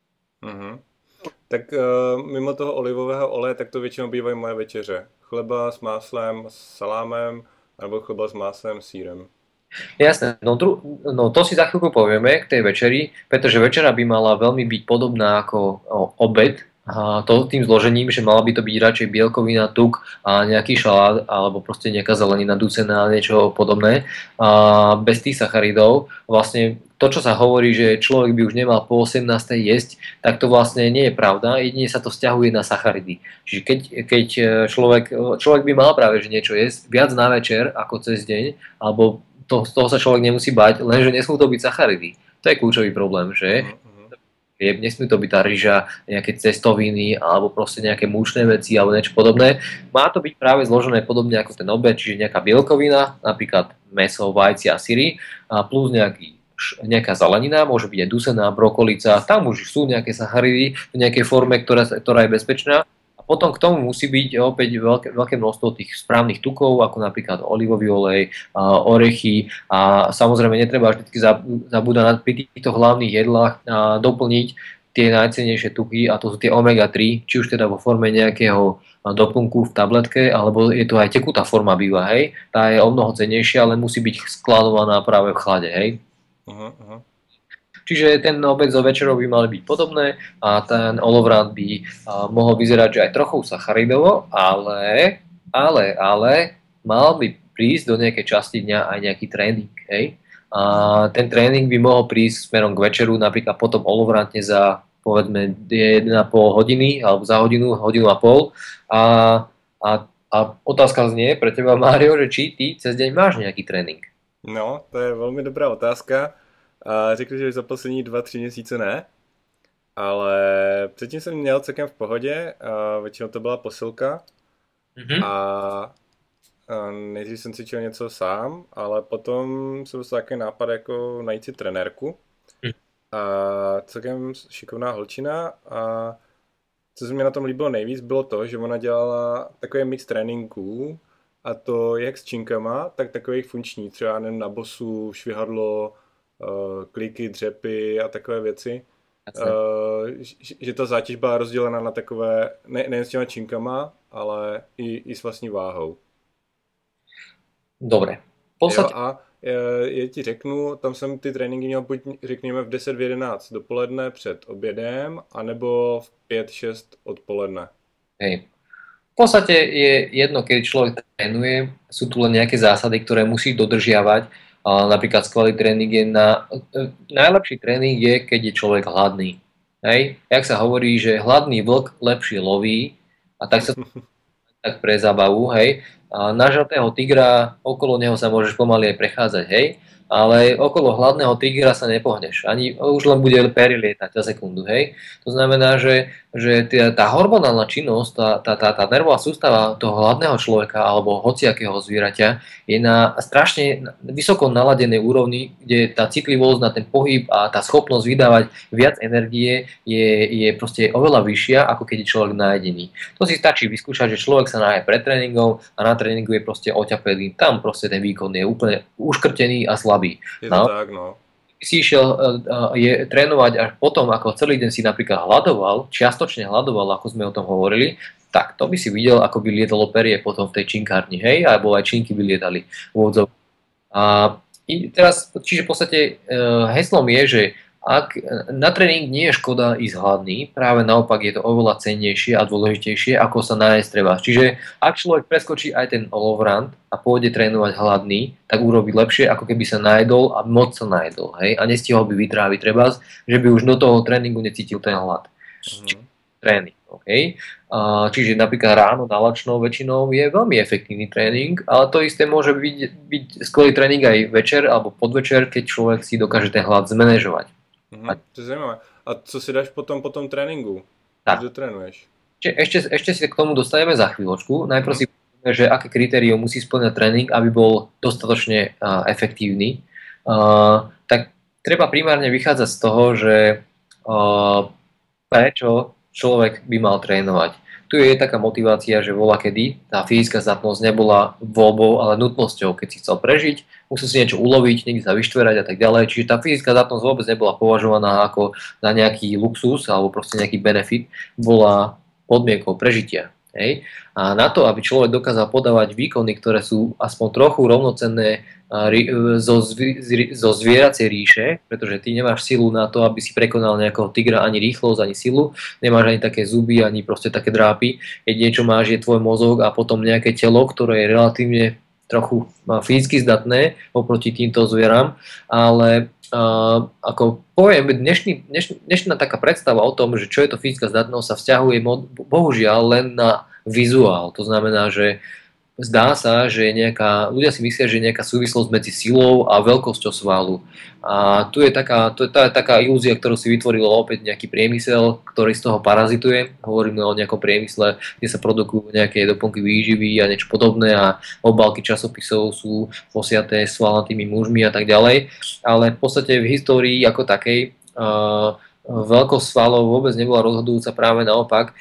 Tak mimo toho olivového oleje, tak to většinou bývají moje večeře. Chleba s máslem, s salámem, nebo chleba s máslem, sírem. Jasné, no to si za chvíľku povieme k tej večeri, pretože večera by mala veľmi byť podobná ako obed, a to tým zložením, že mala by to byť radšej bielkovina, tuk a nejaký šalát alebo proste nejaká zelenina ducená a niečo podobné. A bez tých sacharidov vlastne to, čo sa hovorí, že človek by už nemal po 18. jesť, tak to vlastne nie je pravda, jedine sa to vzťahuje na sacharidy. Čiže keď človek by mal práve že niečo jesť viac na večer ako cez deň, alebo z toho sa človek nemusí bať, lenže nesmú to byť sacharidy. To je kľúčový problém, že? nesmie to byť tá ryža, nejaké cestoviny alebo proste nejaké múčne veci alebo niečo podobné. Má to byť práve zložené podobne ako ten obed, čiže nejaká bielkovina, napríklad mäso, vajcia a syry a plus nejaká zelenina, môže byť aj dusená, brokolica, tam už sú nejaké sacharidy v nejakej forme, ktorá je bezpečná. A potom k tomu musí byť opäť veľké množstvo tých správnych tukov, ako napríklad olivový olej, orechy a samozrejme netreba vždy zabúdať pri týchto hlavných jedlách doplniť tie najcennejšie tuky a to sú tie omega-3, či už teda vo forme nejakého doplnku v tabletke, alebo je to aj tekutá forma býva, hej. Tá je o mnoho cennejšia, ale musí byť skladovaná práve v chlade, hej. Čiže ten obed so večerou by mali byť podobné a ten olovrant by mohol vyzerať, že aj trochu sacharidovo, ale mal by prísť do nejakej časti dňa aj nejaký tréning. Hej? A ten tréning by mohol prísť smerom k večeru, napríklad potom olovrantne za povedzme 1,5 hodiny alebo za hodinu a pol. A otázka znie pre teba, Mário, že či ty cez deň máš nejaký tréning? No, to je velmi dobrá otázka. A řekl, že za poslední 2-3 měsíce ne, ale předtím jsem měl celkem v pohodě, a většinou to byla posilka a nejdřív jsem cvičil něco sám, ale potom jsem dostal takový nápad jako najít si trenérku a celkem šikovná holčina a co se mi na tom líbilo nejvíc bylo to, že ona dělala takový mix tréninků a to jak s činkama, tak takových funkční, třeba nevím, na bosu, švihadlo, kliky, dřepy a takové věci. Že ta zátěž byla rozdělena na takové, nejen s těma činkama, ale i s vlastní váhou. Dobre. A já ti řeknu, tam jsem ty tréninky měl buď řekněme v 10, v 11 dopoledne před obědem, anebo v 5-6 odpoledne. Hej. V podstate je jedno, keď človek trénuje, sú tu len nejaké zásady, ktoré musí dodržiavať. Napríklad skvelý tréning je najlepší tréning je, keď je človek hladný. Hej? Jak sa hovorí, že hladný vlk lepšie loví a tak sa tak pre zábavu, hej. A nažratého tigra, okolo neho sa môžeš pomaly aj prechádzať, hej. Ale okolo hladného tigra sa nepohneš. Ani už len bude pery lietať za sekundu, hej. To znamená, že tá hormonálna činnosť, tá nervová sústava toho hladného človeka alebo hociakého zvieraťa je na strašne vysoko naladenej úrovni, kde tá citlivosť na ten pohyb a tá schopnosť vydávať viac energie je proste oveľa vyššia, ako keď je človek najedený. To si stačí vyskúšať, že človek sa naje pred tréningom a na tréningu je proste oťapený. Tam proste ten výkon je úplne uškrtený a slabý. Je to tak, no. Si išiel trénovať až potom, ako celý deň si napríklad hladoval, čiastočne hladoval, ako sme o tom hovorili, tak to by si videl, ako by lietalo perie potom v tej činkárni, hej, alebo aj činky by lietali v odzov. A teraz, čiže v podstate heslom je, že ak na tréning nie je škoda ísť hladný, práve naopak je to oveľa cennejšie a dôležitejšie, ako sa nájsť treba. Čiže ak človek preskočí aj ten olovrant a pôjde trénovať hladný, tak urobí lepšie, ako keby sa najedol a moc sa najedol, hej, a nestihol by vytráviť treba, že by už do toho tréningu necítil ten hlad. Tréning, okay? Čiže napríklad ráno nalačnou väčšinou je veľmi efektívny tréning, ale to isté môže byť skvelý tréning aj večer alebo podvečer, keď človek si dokáže ten hlad zmanéžovať. To je zajímavé. A co si dáš potom po tom tréninku? Tak. Kde trénuješ? Ešte si k tomu dostaneme za chvíľočku. Najprv si povieme, že aké kritérium musí spĺňať tréning, aby bol dostatočne efektívny. Tak treba primárne vychádzať z toho, že prečo človek by mal trénovať. Tu je taká motivácia, že voľakedy tá fyzická zdatnosť nebola voľbou, ale nutnosťou. Keď si chcel prežiť, musel si niečo uloviť, niekde sa vyštverať a tak ďalej. Čiže tá fyzická zdatnosť vôbec nebola považovaná ako na nejaký luxus alebo proste nejaký benefit, bola podmienkou prežitia. Hej? A na to, aby človek dokázal podávať výkony, ktoré sú aspoň trochu rovnocenné zo zvieracej ríše, pretože ty nemáš silu na to, aby si prekonal nejakého tigra, ani rýchlosť, ani silu, nemáš ani také zuby, ani proste také drápy. Jedine čo máš je tvoj mozog a potom nejaké telo, ktoré je relatívne trochu fyzicky zdatné oproti týmto zvieram, ale ako poviem, dnešná taká predstava o tom, že čo je to fyzická zdatnosť, sa vzťahuje bohužiaľ len na vizuál. To znamená, že zdá sa, že ľudia si myslia, že je nejaká súvislosť medzi silou a veľkosťou svalu. A tu je taká ilúzia, ktorú si vytvoril opäť nejaký priemysel, ktorý z toho parazituje. Hovoríme o nejakom priemysle, kde sa produkujú nejaké doplnky výživy a niečo podobné a obálky časopisov sú posiaté svalnatými mužmi a tak ďalej. Ale v podstate v histórii ako takej veľkosť svalov vôbec nebola rozhodujúca, práve naopak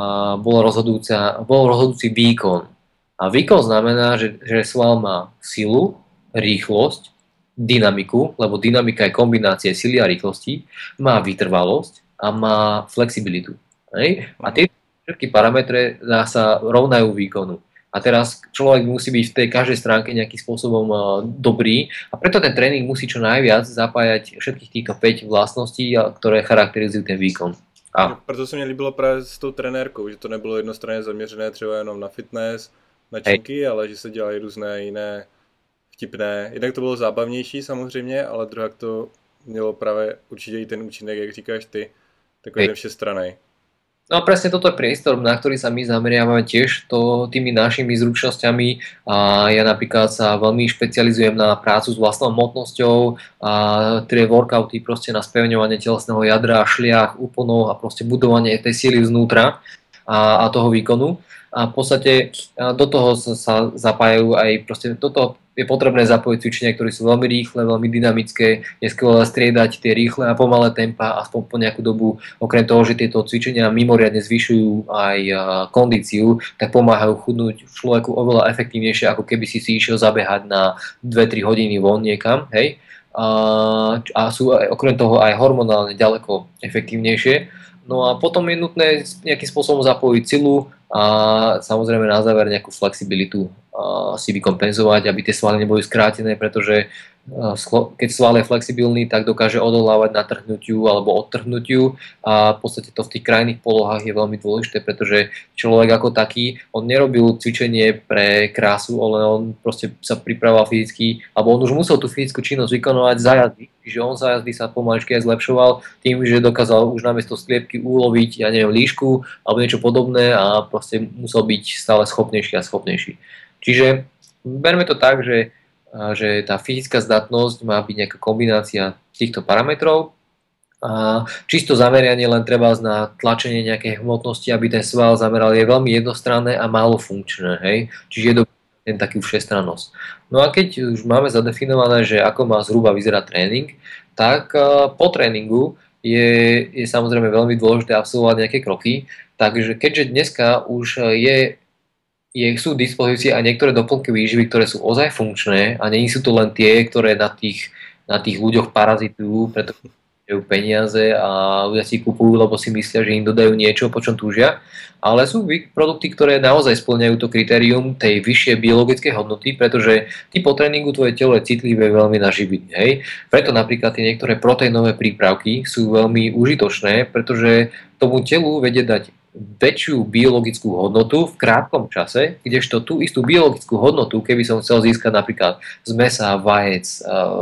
bol rozhodujúci výkon. A výkon znamená, že sval má silu, rýchlosť, dynamiku, lebo dynamika je kombinácia sily a rýchlosti, má vytrvalosť a má flexibilitu. Hej? A tie všetky parametre sa rovnajú výkonu. A teraz človek musí byť v tej každej stránke nejakým spôsobom dobrý a preto ten tréning musí čo najviac zapájať všetkých týchto 5 vlastností, ktoré charakterizujú ten výkon. Proto se mě líbilo právě s tou trenérkou, že to nebylo jednostranně zaměřené třeba jenom na fitness, na činky, ale že se dělají různé jiné vtipné. Jednak to bylo zábavnější samozřejmě, ale druhak to mělo právě určitě i ten účinek, jak říkáš ty, takový ten všestranný. No a presne toto je priestor, na ktorý sa my zameriavame tiež tými našimi zručnosťami. A ja napríklad sa veľmi špecializujem na prácu s vlastnou hmotnosťou a tie workouty proste na spevňovanie telesného jadra, šliach, úponov a proste budovanie tej síly vnútra a toho výkonu. A v podstate do toho sa zapájajú aj proste toto je potrebné zapojiť cvičenia, ktoré sú veľmi rýchle, veľmi dynamické, je skvelé striedať tie rýchle a pomalé tempa aspoň po nejakú dobu. Okrem toho, že tieto cvičenia mimoriadne zvyšujú aj kondíciu, tak pomáhajú chudnúť človeku oveľa efektívnejšie, ako keby si išiel zabehať na 2-3 hodiny von niekam, hej? A sú okrem toho aj hormonálne ďaleko efektívnejšie. No a potom je nutné nejakým spôsobom zapojiť silu a samozrejme na záver nejakú flexibilitu si vykompenzovať, aby tie svaly neboli skrátené, pretože keď sval je flexibilný, tak dokáže odolávať natrhnutiu alebo odtrhnutiu a v podstate to v tých krajných polohách je veľmi dôležité, pretože človek ako taký, on nerobil cvičenie pre krásu, ale on proste sa pripravoval fyzicky, alebo on už musel tú fyzickú činnosť vykonovať za jazdy, čiže on za jazdy sa pomaličky aj zlepšoval tým, že dokázal už namiesto skliepky uloviť, ja neviem, líšku alebo niečo podobné a proste musel byť stále schopnejší a schopnejší. Čiže berme to tak, že tá fyzická zdatnosť má byť nejaká kombinácia týchto parametrov a čisto zamerianie len treba na tlačenie nejakej hmotnosti, aby ten sval zameral, je veľmi jednostranné a málo funkčné, hej? Čiže je dobrý taký všestrannosť. No a keď už máme zadefinované, že ako má zhruba vyzerať tréning, tak po tréningu je samozrejme veľmi dôležité absolvovať nejaké kroky, takže keďže dneska už sú v dispozícii aj niektoré doplnky výživy, ktoré sú ozaj funkčné a nie sú to len tie, ktoré na tých ľuďoch parazitujú, pretože majú peniaze a ľudia si kupujú, lebo si myslia, že im dodajú niečo, po čom túžia. Ale sú produkty, ktoré naozaj spĺňajú to kritérium tej vyššej biologickej hodnoty, pretože ty po tréningu tvoje telo je citlivé veľmi na živiny. Hej? Preto napríklad tie niektoré proteínové prípravky sú veľmi užitočné, pretože tomu telu vedie dať väčšiu biologickú hodnotu v krátkom čase, kdežto tú istú biologickú hodnotu, keby som chcel získať napríklad z mäsa, vajec,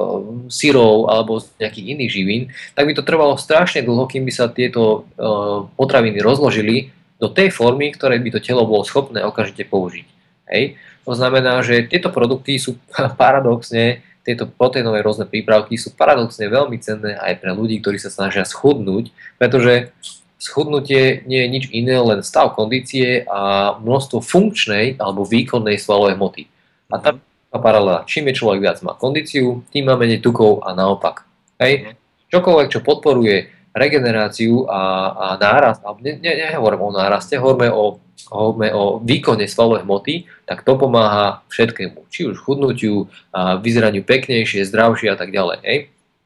syrov alebo z nejakých iných živín, tak by to trvalo strašne dlho, kým by sa tieto potraviny rozložili do tej formy, ktorej by to telo bolo schopné okamžite použiť. Hej? To znamená, že tieto produkty sú paradoxne, tieto proteínové rôzne prípravky sú paradoxne veľmi cenné aj pre ľudí, ktorí sa snažia schudnúť, pretože schudnutie nie je nič iné, len stav kondície a množstvo funkčnej alebo výkonnej svalovej hmoty. A tá paralela, čím je človek viac má kondíciu, tým má menej tukov a naopak. Hej? Čokoľvek, čo podporuje regeneráciu a nárast, nehovorím o náraste, hovoríme o výkone svalovej hmoty, tak to pomáha všetkému. Či už chudnutiu, vyzeraniu peknejšie, zdravšie a tak ďalej. Hej?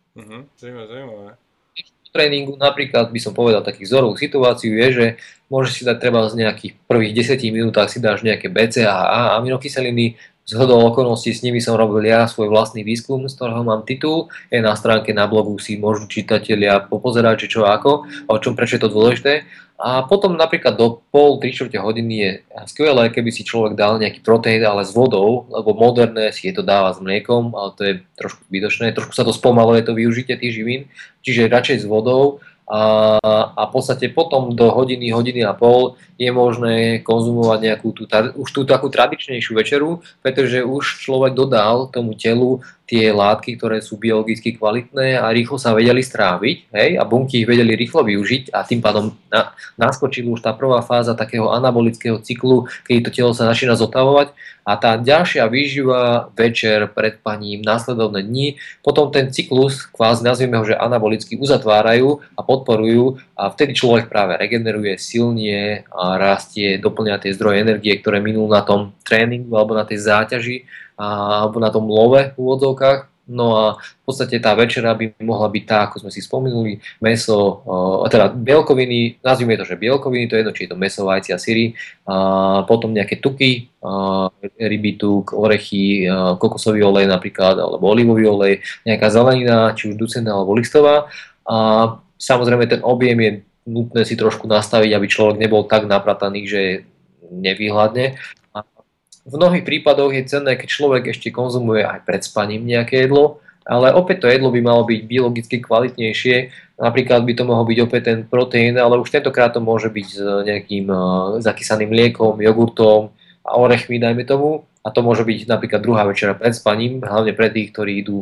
Zaujímavé. Tréningu napríklad by som povedal takých vzorovú situáciu je, že môžeš si dať treba z nejakých prvých 10 minútach si dáš nejaké BCAA a aminokyseliny, zhodou okolností s nimi som robil ja svoj vlastný výskum, z ktorého mám titul, je na stránke na blogu, si môžu čitatelia popozerať, či čo ako, o čom, prečo je to dôležité. A potom napríklad do pol, 3/4 hodiny je skvelé, keby si človek dal nejaký proteín, ale s vodou, lebo moderné si je to dáva s mliekom, ale to je trošku zbytočné, trošku sa to spomaluje to využitie tých živín, čiže radšej s vodou a v podstate potom do hodiny, hodiny a pol je možné konzumovať nejakú už tú takú tradičnejšiu večeru, pretože už človek dodal tomu telu tie látky, ktoré sú biologicky kvalitné a rýchlo sa vedeli stráviť, hej, a bunky ich vedeli rýchlo využiť a tým pádom naskočila už tá prvá fáza takého anabolického cyklu, keď to telo sa začína zotavovať a tá ďalšia výživa, večer, pred spaním, následovné dni, potom ten cyklus, kvázi nazvieme ho, že anabolicky uzatvárajú a podporujú a vtedy človek práve regeneruje, silnie a rastie, doplňa tie zdroje energie, ktoré minul na tom tréningu alebo na tej záťaži alebo na tom love v úvodzovkách. No a v podstate tá večera by mohla byť tá, ako sme si spomenuli, mäso, teda bielkoviny, nazvime to, že bielkoviny, to je jedno, či je to mäso, vajcia, syry, potom nejaké tuky, ryby, tuk, orechy, kokosový olej napríklad, alebo olivový olej, nejaká zelenina, či už ducená alebo listová. A samozrejme ten objem je nutné si trošku nastaviť, aby človek nebol tak naprataný, že nevyhľadne. V mnohých prípadoch je cenné, keď človek ešte konzumuje aj pred spaním nejaké jedlo, ale opäť to jedlo by malo byť biologicky kvalitnejšie. Napríklad by to mohol byť opäť ten proteín, ale už tentokrát to môže byť s nejakým zakysaným mliekom, jogurtom a orechmi, dajme tomu. A to môže byť napríklad druhá večera pred spaním, hlavne pre tých, ktorí idú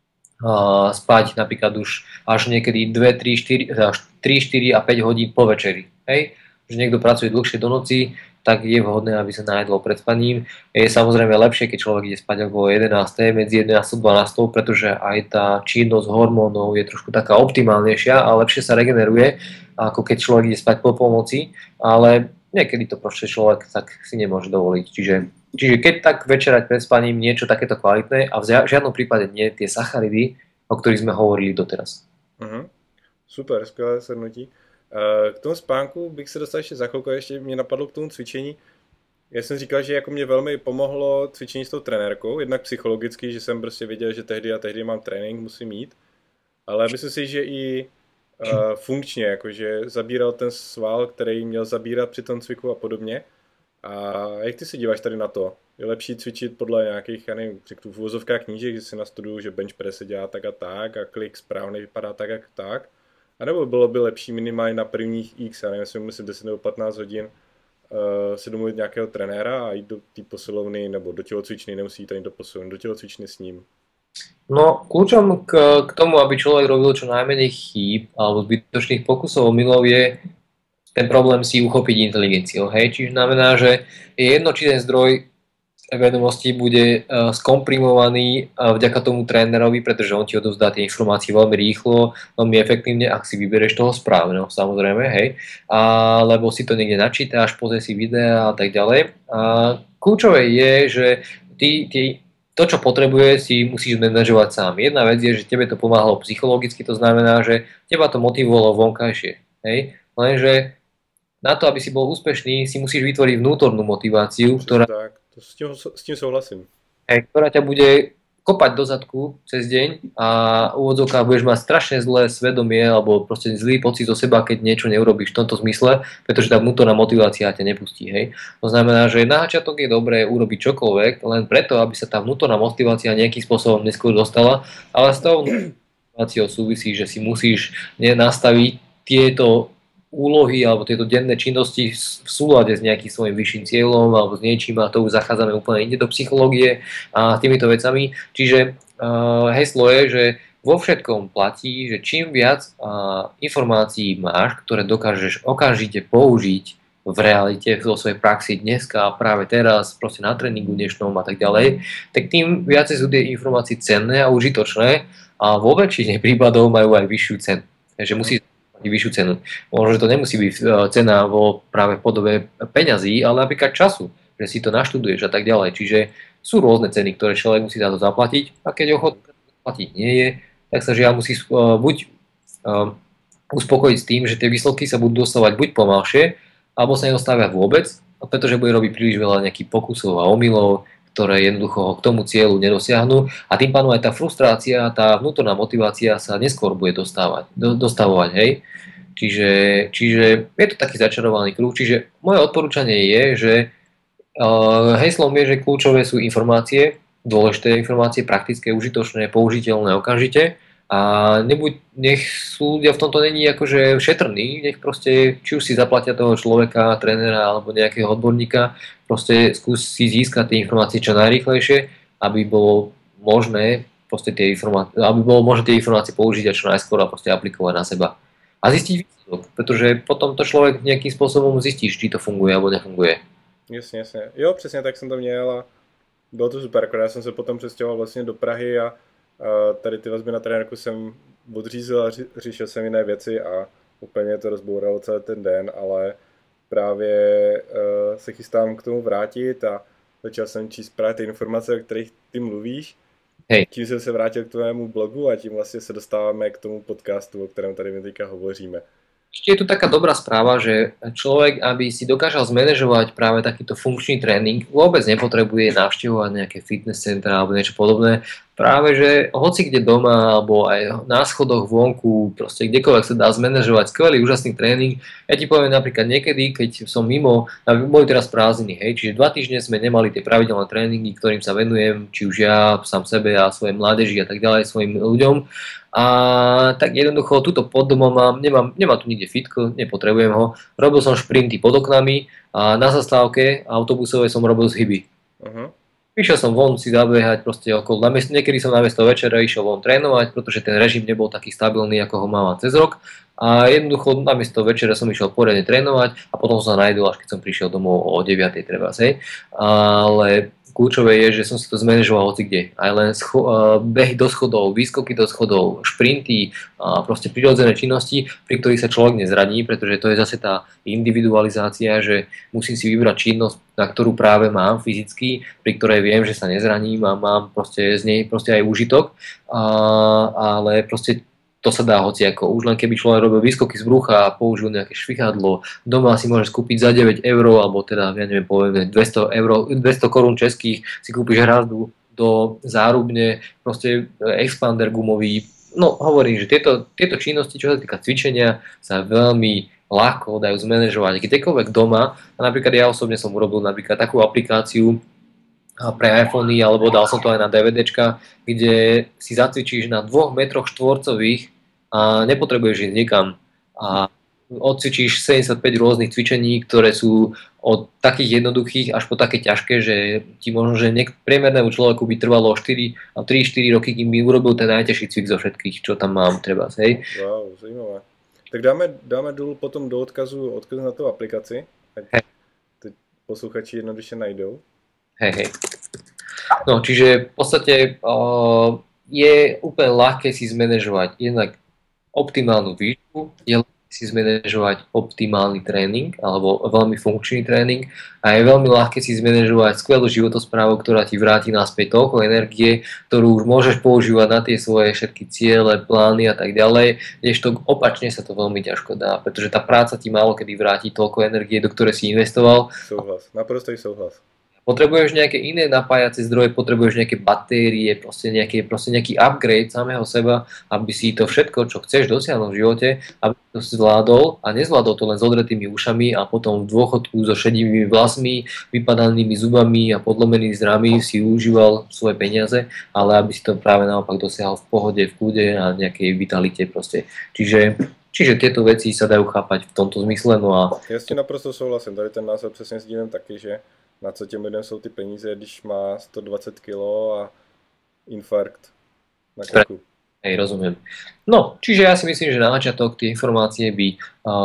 spať napríklad už až niekedy 2, 3, 4 a 5 hodín po večeri. Hej? Že niekto pracuje dlhšie do noci, tak je vhodné, aby sa najedlo pred spaním. Je samozrejme lepšie, keď človek ide spať okolo 11. medzi 11 a 12, pretože aj tá činnosť hormónov je trošku taká optimálnejšia a lepšie sa regeneruje, ako keď človek ide spať po polnoci, ale niekedy to proste človek tak si nemôže dovoliť. Čiže keď tak večerať pred spaním niečo takéto kvalitné a v žiadnom prípade nie tie sacharidy, o ktorých sme hovorili doteraz. Super, skvělé shrnutí. K tomu spánku bych se dostal ještě za chvilku, ještě mě napadlo k tomu cvičení. Já jsem říkal, že jako mě velmi pomohlo cvičení s tou trenérkou, jednak psychologicky, že jsem prostě věděl, že tehdy a tehdy mám trénink, musím jít, ale myslím si, že i funkčně, jakože zabíral ten sval, který měl zabírat při tom cviku a podobně. A jak ty se díváš tady na to? Je lepší cvičit podle nějakých, já nevím, řeknu v uvozovkách knížek, že si nastuduju, že bench press se dělá tak a klik správně vypadá tak a tak? A nebo bylo by lepší minimálně na prvních x, já nevím, jestli musím 10 nebo 15 hodin si domluvit nějakého trenéra a jít do té posilovny nebo do tělocvičny, nemusí jít ani do posilovny, do tělocvičny s ním? No, kľúčom k tomu, aby človek robil čo najmenej chýb alebo zbytočných pokusov o milov je ten problém si uchopiť inteligenciou. Hej? Čiže znamená, že je jedno, či ten zdroj vedomostí bude skomprimovaný vďaka tomu trénerovi, pretože on ti odovzdá tie informácie veľmi rýchlo, veľmi efektívne, ak si vybereš toho správneho, samozrejme, hej, alebo si to niekde načítaš, pozrieš si videa a tak ďalej. A kľúčové je, že to, čo potrebuje, si musíš manažovať sám. Jedna vec je, že tebe to pomáhalo psychologicky, to znamená, že teba to motivovalo vonkajšie, hej, lenže na to, aby si bol úspešný, si musíš vytvoriť vnútornú motiváciu, ktorá... Tak, s tím souhlasím. Ktorá ťa bude kopať do zadku cez deň a úvodzovkách budeš mať strašne zlé svedomie alebo proste zlý pocit zo seba, keď niečo neurobíš v tomto zmysle, pretože tá vnútorná motivácia ťa nepustí. Hej. To znamená, že na začiatok je dobré urobiť čokoľvek, len preto, aby sa tá vnútorná motivácia nejakým spôsobom neskôr dostala, ale s tou motiváciou súvisí, že si musíš nastaviť tieto úlohy alebo tieto denné činnosti v súlade s nejakým svojím vyšším cieľom alebo s niečím a to už zachádzame úplne inde do psychológie a týmito vecami. Čiže heslo je, že vo všetkom platí, že čím viac informácií máš, ktoré dokážeš okamžite použiť v realite, vo svojej praxi dneska a práve teraz, proste na tréningu dnešnom a tak ďalej, tak tým viacej sú tie informácie cenné a užitočné a vo väčšine prípadov majú aj vyššiu cenu. Takže musí vyššiu cenu. Možno, že to nemusí byť cena práve v podobe peňazí, ale napríklad času, že si to naštuduješ a tak ďalej. Čiže sú rôzne ceny, ktoré človek musí za to zaplatiť a keď ochotný zaplatiť nie je, tak sa žiaľ musí buď uspokojiť s tým, že tie výsledky sa budú dostávať buď pomalšie, alebo sa nedostávia vôbec, pretože bude robiť príliš veľa nejakých pokusov a omylov, ktoré jednoducho ho k tomu cieľu nedosiahnu a tým pádom aj tá frustrácia, tá vnútorná motivácia sa neskôr bude dostavovať, hej. Čiže je to taký začarovaný kruh, čiže moje odporúčanie je, že heslom je, že kľúčové sú informácie, dôležité informácie, praktické, užitočné, použiteľné okamžite A nech sú ľudia v tomto není akože šetrní, nech proste, či už si zaplatia toho človeka, trénera alebo nejakého odborníka, proste skúsi získať tie informácie čo najrýchlejšie, aby bolo možné tie informácie použiť a čo najskôr a proste aplikovať na seba. A zistiť výsledok, pretože potom to človek nejakým spôsobom zistí, či to funguje alebo nefunguje. Jasně, jasně. Jo, přesně tak jsem to měl a bylo to super, akorát já jsem se potom přestěhoval vlastně do Prahy a tady ty vazby na trenérku jsem odřízl a řešil jsem jiné věci a úplně to rozbouralo celý ten den, ale právě se chystám k tomu vrátit a začal jsem číst právě ty informace, o kterých ty mluvíš. Hej. Tím jsem se vrátil k tvému blogu a tím vlastně se dostáváme k tomu podcastu, o kterém tady my teďka hovoříme. Ešte je tu taká dobrá správa, že človek, aby si dokážal zmanéžovať práve takýto funkčný tréning, vôbec nepotrebuje navštevovať nejaké fitness centra alebo niečo podobné. Práve, že hoci kde doma alebo aj na schodoch vonku, proste kdekoľvek sa dá zmanéžovať skvelý, úžasný tréning. Ja ti poviem napríklad niekedy, keď som mimo, boli teraz prázdniny, hej, čiže 2 týždne sme nemali tie pravidelné tréningy, ktorým sa venujem, či už ja, sám sebe a svojej mládeži a tak ďalej, svojim ľuďom. A tak jednoducho, tuto pod domom nemám tu nikde fitko, nepotrebujem ho. Robil som šprinty pod oknami a na zastávke autobusovej som robil zhyby. Išiel som von si zabehať proste okolo, niekedy som namiesto večera išiel von trénovať, pretože ten režim nebol taký stabilný, ako ho mám cez rok. A jednoducho namiesto večera som išiel poriadne trénovať a potom som sa najdol, až keď som prišiel domov o 9:00 treba, hej. Ale kľúčové je, že som si to zmanéžoval hoci kde. Aj len behy do schodov, výskoky do schodov, šprinty, proste prirodzené činnosti, pri ktorých sa človek nezraní, pretože to je zase tá individualizácia, že musím si vybrať činnosť, na ktorú práve mám fyzicky, pri ktorej viem, že sa nezraním a mám proste z nej proste aj úžitok, ale proste to sa dá hociako. Už len keby človek robil výskoky z brucha a použil nejaké švihadlo, doma si môže kúpiť za 9 €, alebo teda, ja neviem, poviem 200 korún českých, si kúpiš hrazdu do zárubne, proste expander gumový. No, hovorím, že tieto činnosti, čo sa týka cvičenia, sa veľmi ľahko dajú zmanéžovať kdekoľvek doma. A napríklad ja osobne som urobil napríklad takú aplikáciu pre iPhony, alebo dal som to aj na DVDčka, kde si zacvičíš na 2 metroch štvorcových a nepotrebuješ ísť nikam. A odcvičíš 75 rôznych cvičení, ktoré sú od takých jednoduchých až po také ťažké, že ti možno, že priemernému človeku by trvalo 3-4 roky, kým by urobil ten najťažší cvik zo všetkých, čo tam mám treba, hej. Wow, zajímavé. Tak dáme dolů potom do odkaz na tu aplikaci, ať teď posluchači jednoduše najdou. Hej. No, čiže v podstate je úplne ľahké si zmanéžovať jednak optimálnu výšku, je ľahké si zmanéžovať optimálny tréning alebo veľmi funkčný tréning a je veľmi ľahké si zmanéžovať skvelú životosprávu, ktorá ti vráti naspäť toľko energie, ktorú už môžeš používať na tie svoje všetky ciele, plány a tak ďalej, kdežto opačne sa to veľmi ťažko dá, pretože tá práca ti málo kedy vráti toľko energie, do ktorej si investoval. Souhlas, naprostý souhlas. Potrebuješ nejaké iné napájacie zdroje, potrebuješ nejaké batérie, proste nejaký upgrade samého seba, aby si to všetko, čo chceš dosiahnuť v živote, aby to zvládol a nezvládol to len s odretými ušami a potom v dôchodku so šedivými vlasmi, vypadanými zubami a podlomenými zrami si užíval svoje peniaze, ale aby si to práve naopak dosiahol v pohode, v kľude a nejakej vitalite proste. Čiže tieto veci sa dajú chápať v tomto zmysle. No a... Ja s tím naprosto souhlasím, tady ten názor přesně sdílím taky, že na co těm lidem jsou ty peníze, když má 120 kg a infarkt na krku. Hej, rozumiem. No, čiže ja si myslím, že na začiatok tie informácie by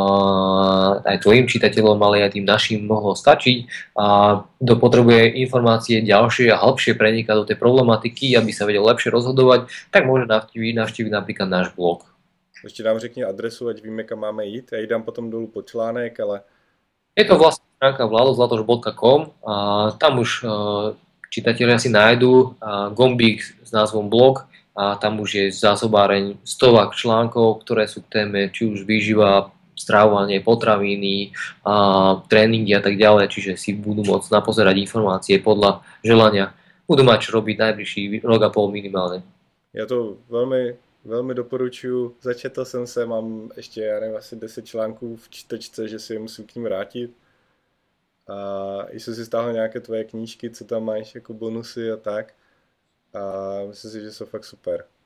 aj tvojim čitateľom, ale aj tým našim mohlo stačiť. A kto potrebuje informácie ďalšie a hĺbšie prenikať do tej problematiky, aby sa vedel lepšie rozhodovať, tak môže navštíviť napríklad náš blog. Ještě nám řekni adresu, ať víme, kam máme jít. Já ji dám potom dolů pod článek, ale... Je to vlastná stránka vladozlatoš.com a tam už čitatelia si nájdu gombík s názvom blog a tam už je zásobáreň stovák článkov, ktoré sú k téme či už výživa, stravovanie, potraviny, tréningy a tak ďalej, čiže si budú môcť napozerať informácie podľa želania. Budú mať čo robiť najbližší rok a pol minimálne. Ja to velmi doporučuji. Začetl jsem se, mám ještě, já nevím, asi 10 článků v čtečce, že si je musím k ním vrátit. A jsem si stáhl nějaké tvoje knížky, co tam máš jako bonusy a tak. A myslím si, že jsou fakt super.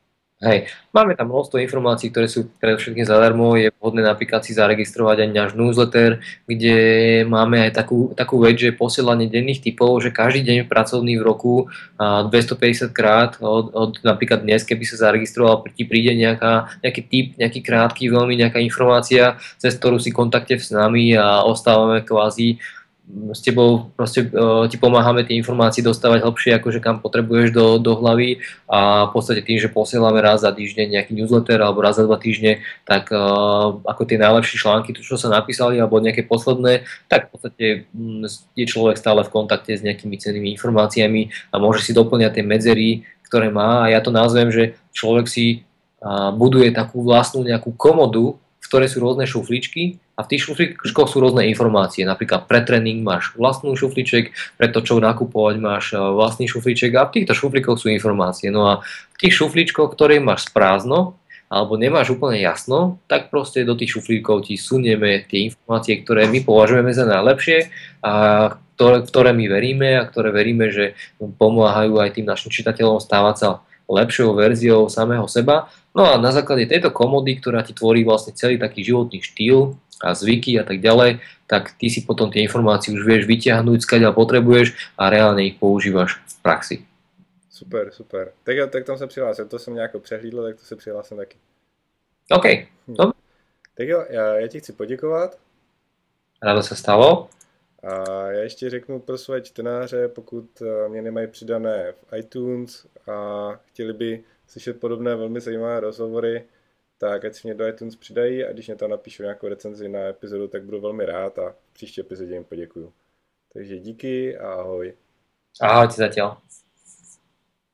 Hej, máme tam množstvo informácií, ktoré sú predovšetkým zadarmo. Je vhodné napríklad si zaregistrovať aj náš newsletter, kde máme aj takú vec, že posielanie denných tipov, že každý deň pracovný v roku 250 krát od napríklad dnes, keby sa zaregistroval, ti príde nejaký tip, nejaký krátky, veľmi nejaká informácia, cez ktorú si kontakte s nami a ostávame kvázi s tebou, proste ti pomáhame tie informácie dostávať hlbšie, akože kam potrebuješ do hlavy a v podstate tým, že posielame raz za týždeň nejaký newsletter alebo raz za 2 týždne, tak ako tie najlepšie články, čo sa napísali alebo nejaké posledné, tak v podstate je človek stále v kontakte s nejakými cennými informáciami a môže si doplňať tie medzery, ktoré má a ja to nazvem, že človek si buduje takú vlastnú nejakú komodu, v ktorej sú rôzne šufličky a v tých šufličkoch sú rôzne informácie. Napríklad pre tréning máš vlastnú šufliček, pre to, čo nakupovať máš vlastný šufliček a v týchto šuflíkoch sú informácie. No a v tých šufličkoch, ktoré máš prázdno alebo nemáš úplne jasno, tak proste do tých šuflíkov ti sunieme tie informácie, ktoré my považujeme za najlepšie a ktoré my veríme a ktoré veríme, že pomáhajú aj tým našim čitateľom stávať sa lepšou verziou samého seba. No a na základe tejto komody, ktorá ti tvorí vlastne celý taký životný štýl a zvyky a tak ďalej, tak ty si potom tie informácie už vieš vyťahnuť, skáďaľ potrebuješ a reálne ich používaš v praxi. Super, super. Tak jo, tak tam se přihlásil, to jsem nějak přehlídl, tak to se přihlásím taky. OK, dobre. Tak jo, já ti chci poděkovat. Rádo sa stalo. A já ještě řeknu pro své čtenáře, pokud mě nemají přidané v iTunes a chtěli by slyšet podobné velmi zajímavé rozhovory, tak ať si mě do iTunes přidají a když mě tam napíšou nějakou recenzi na epizodu, tak budu velmi rád a v příští epizodě jim poděkuju. Takže díky a ahoj. Ahojte zatiaľ.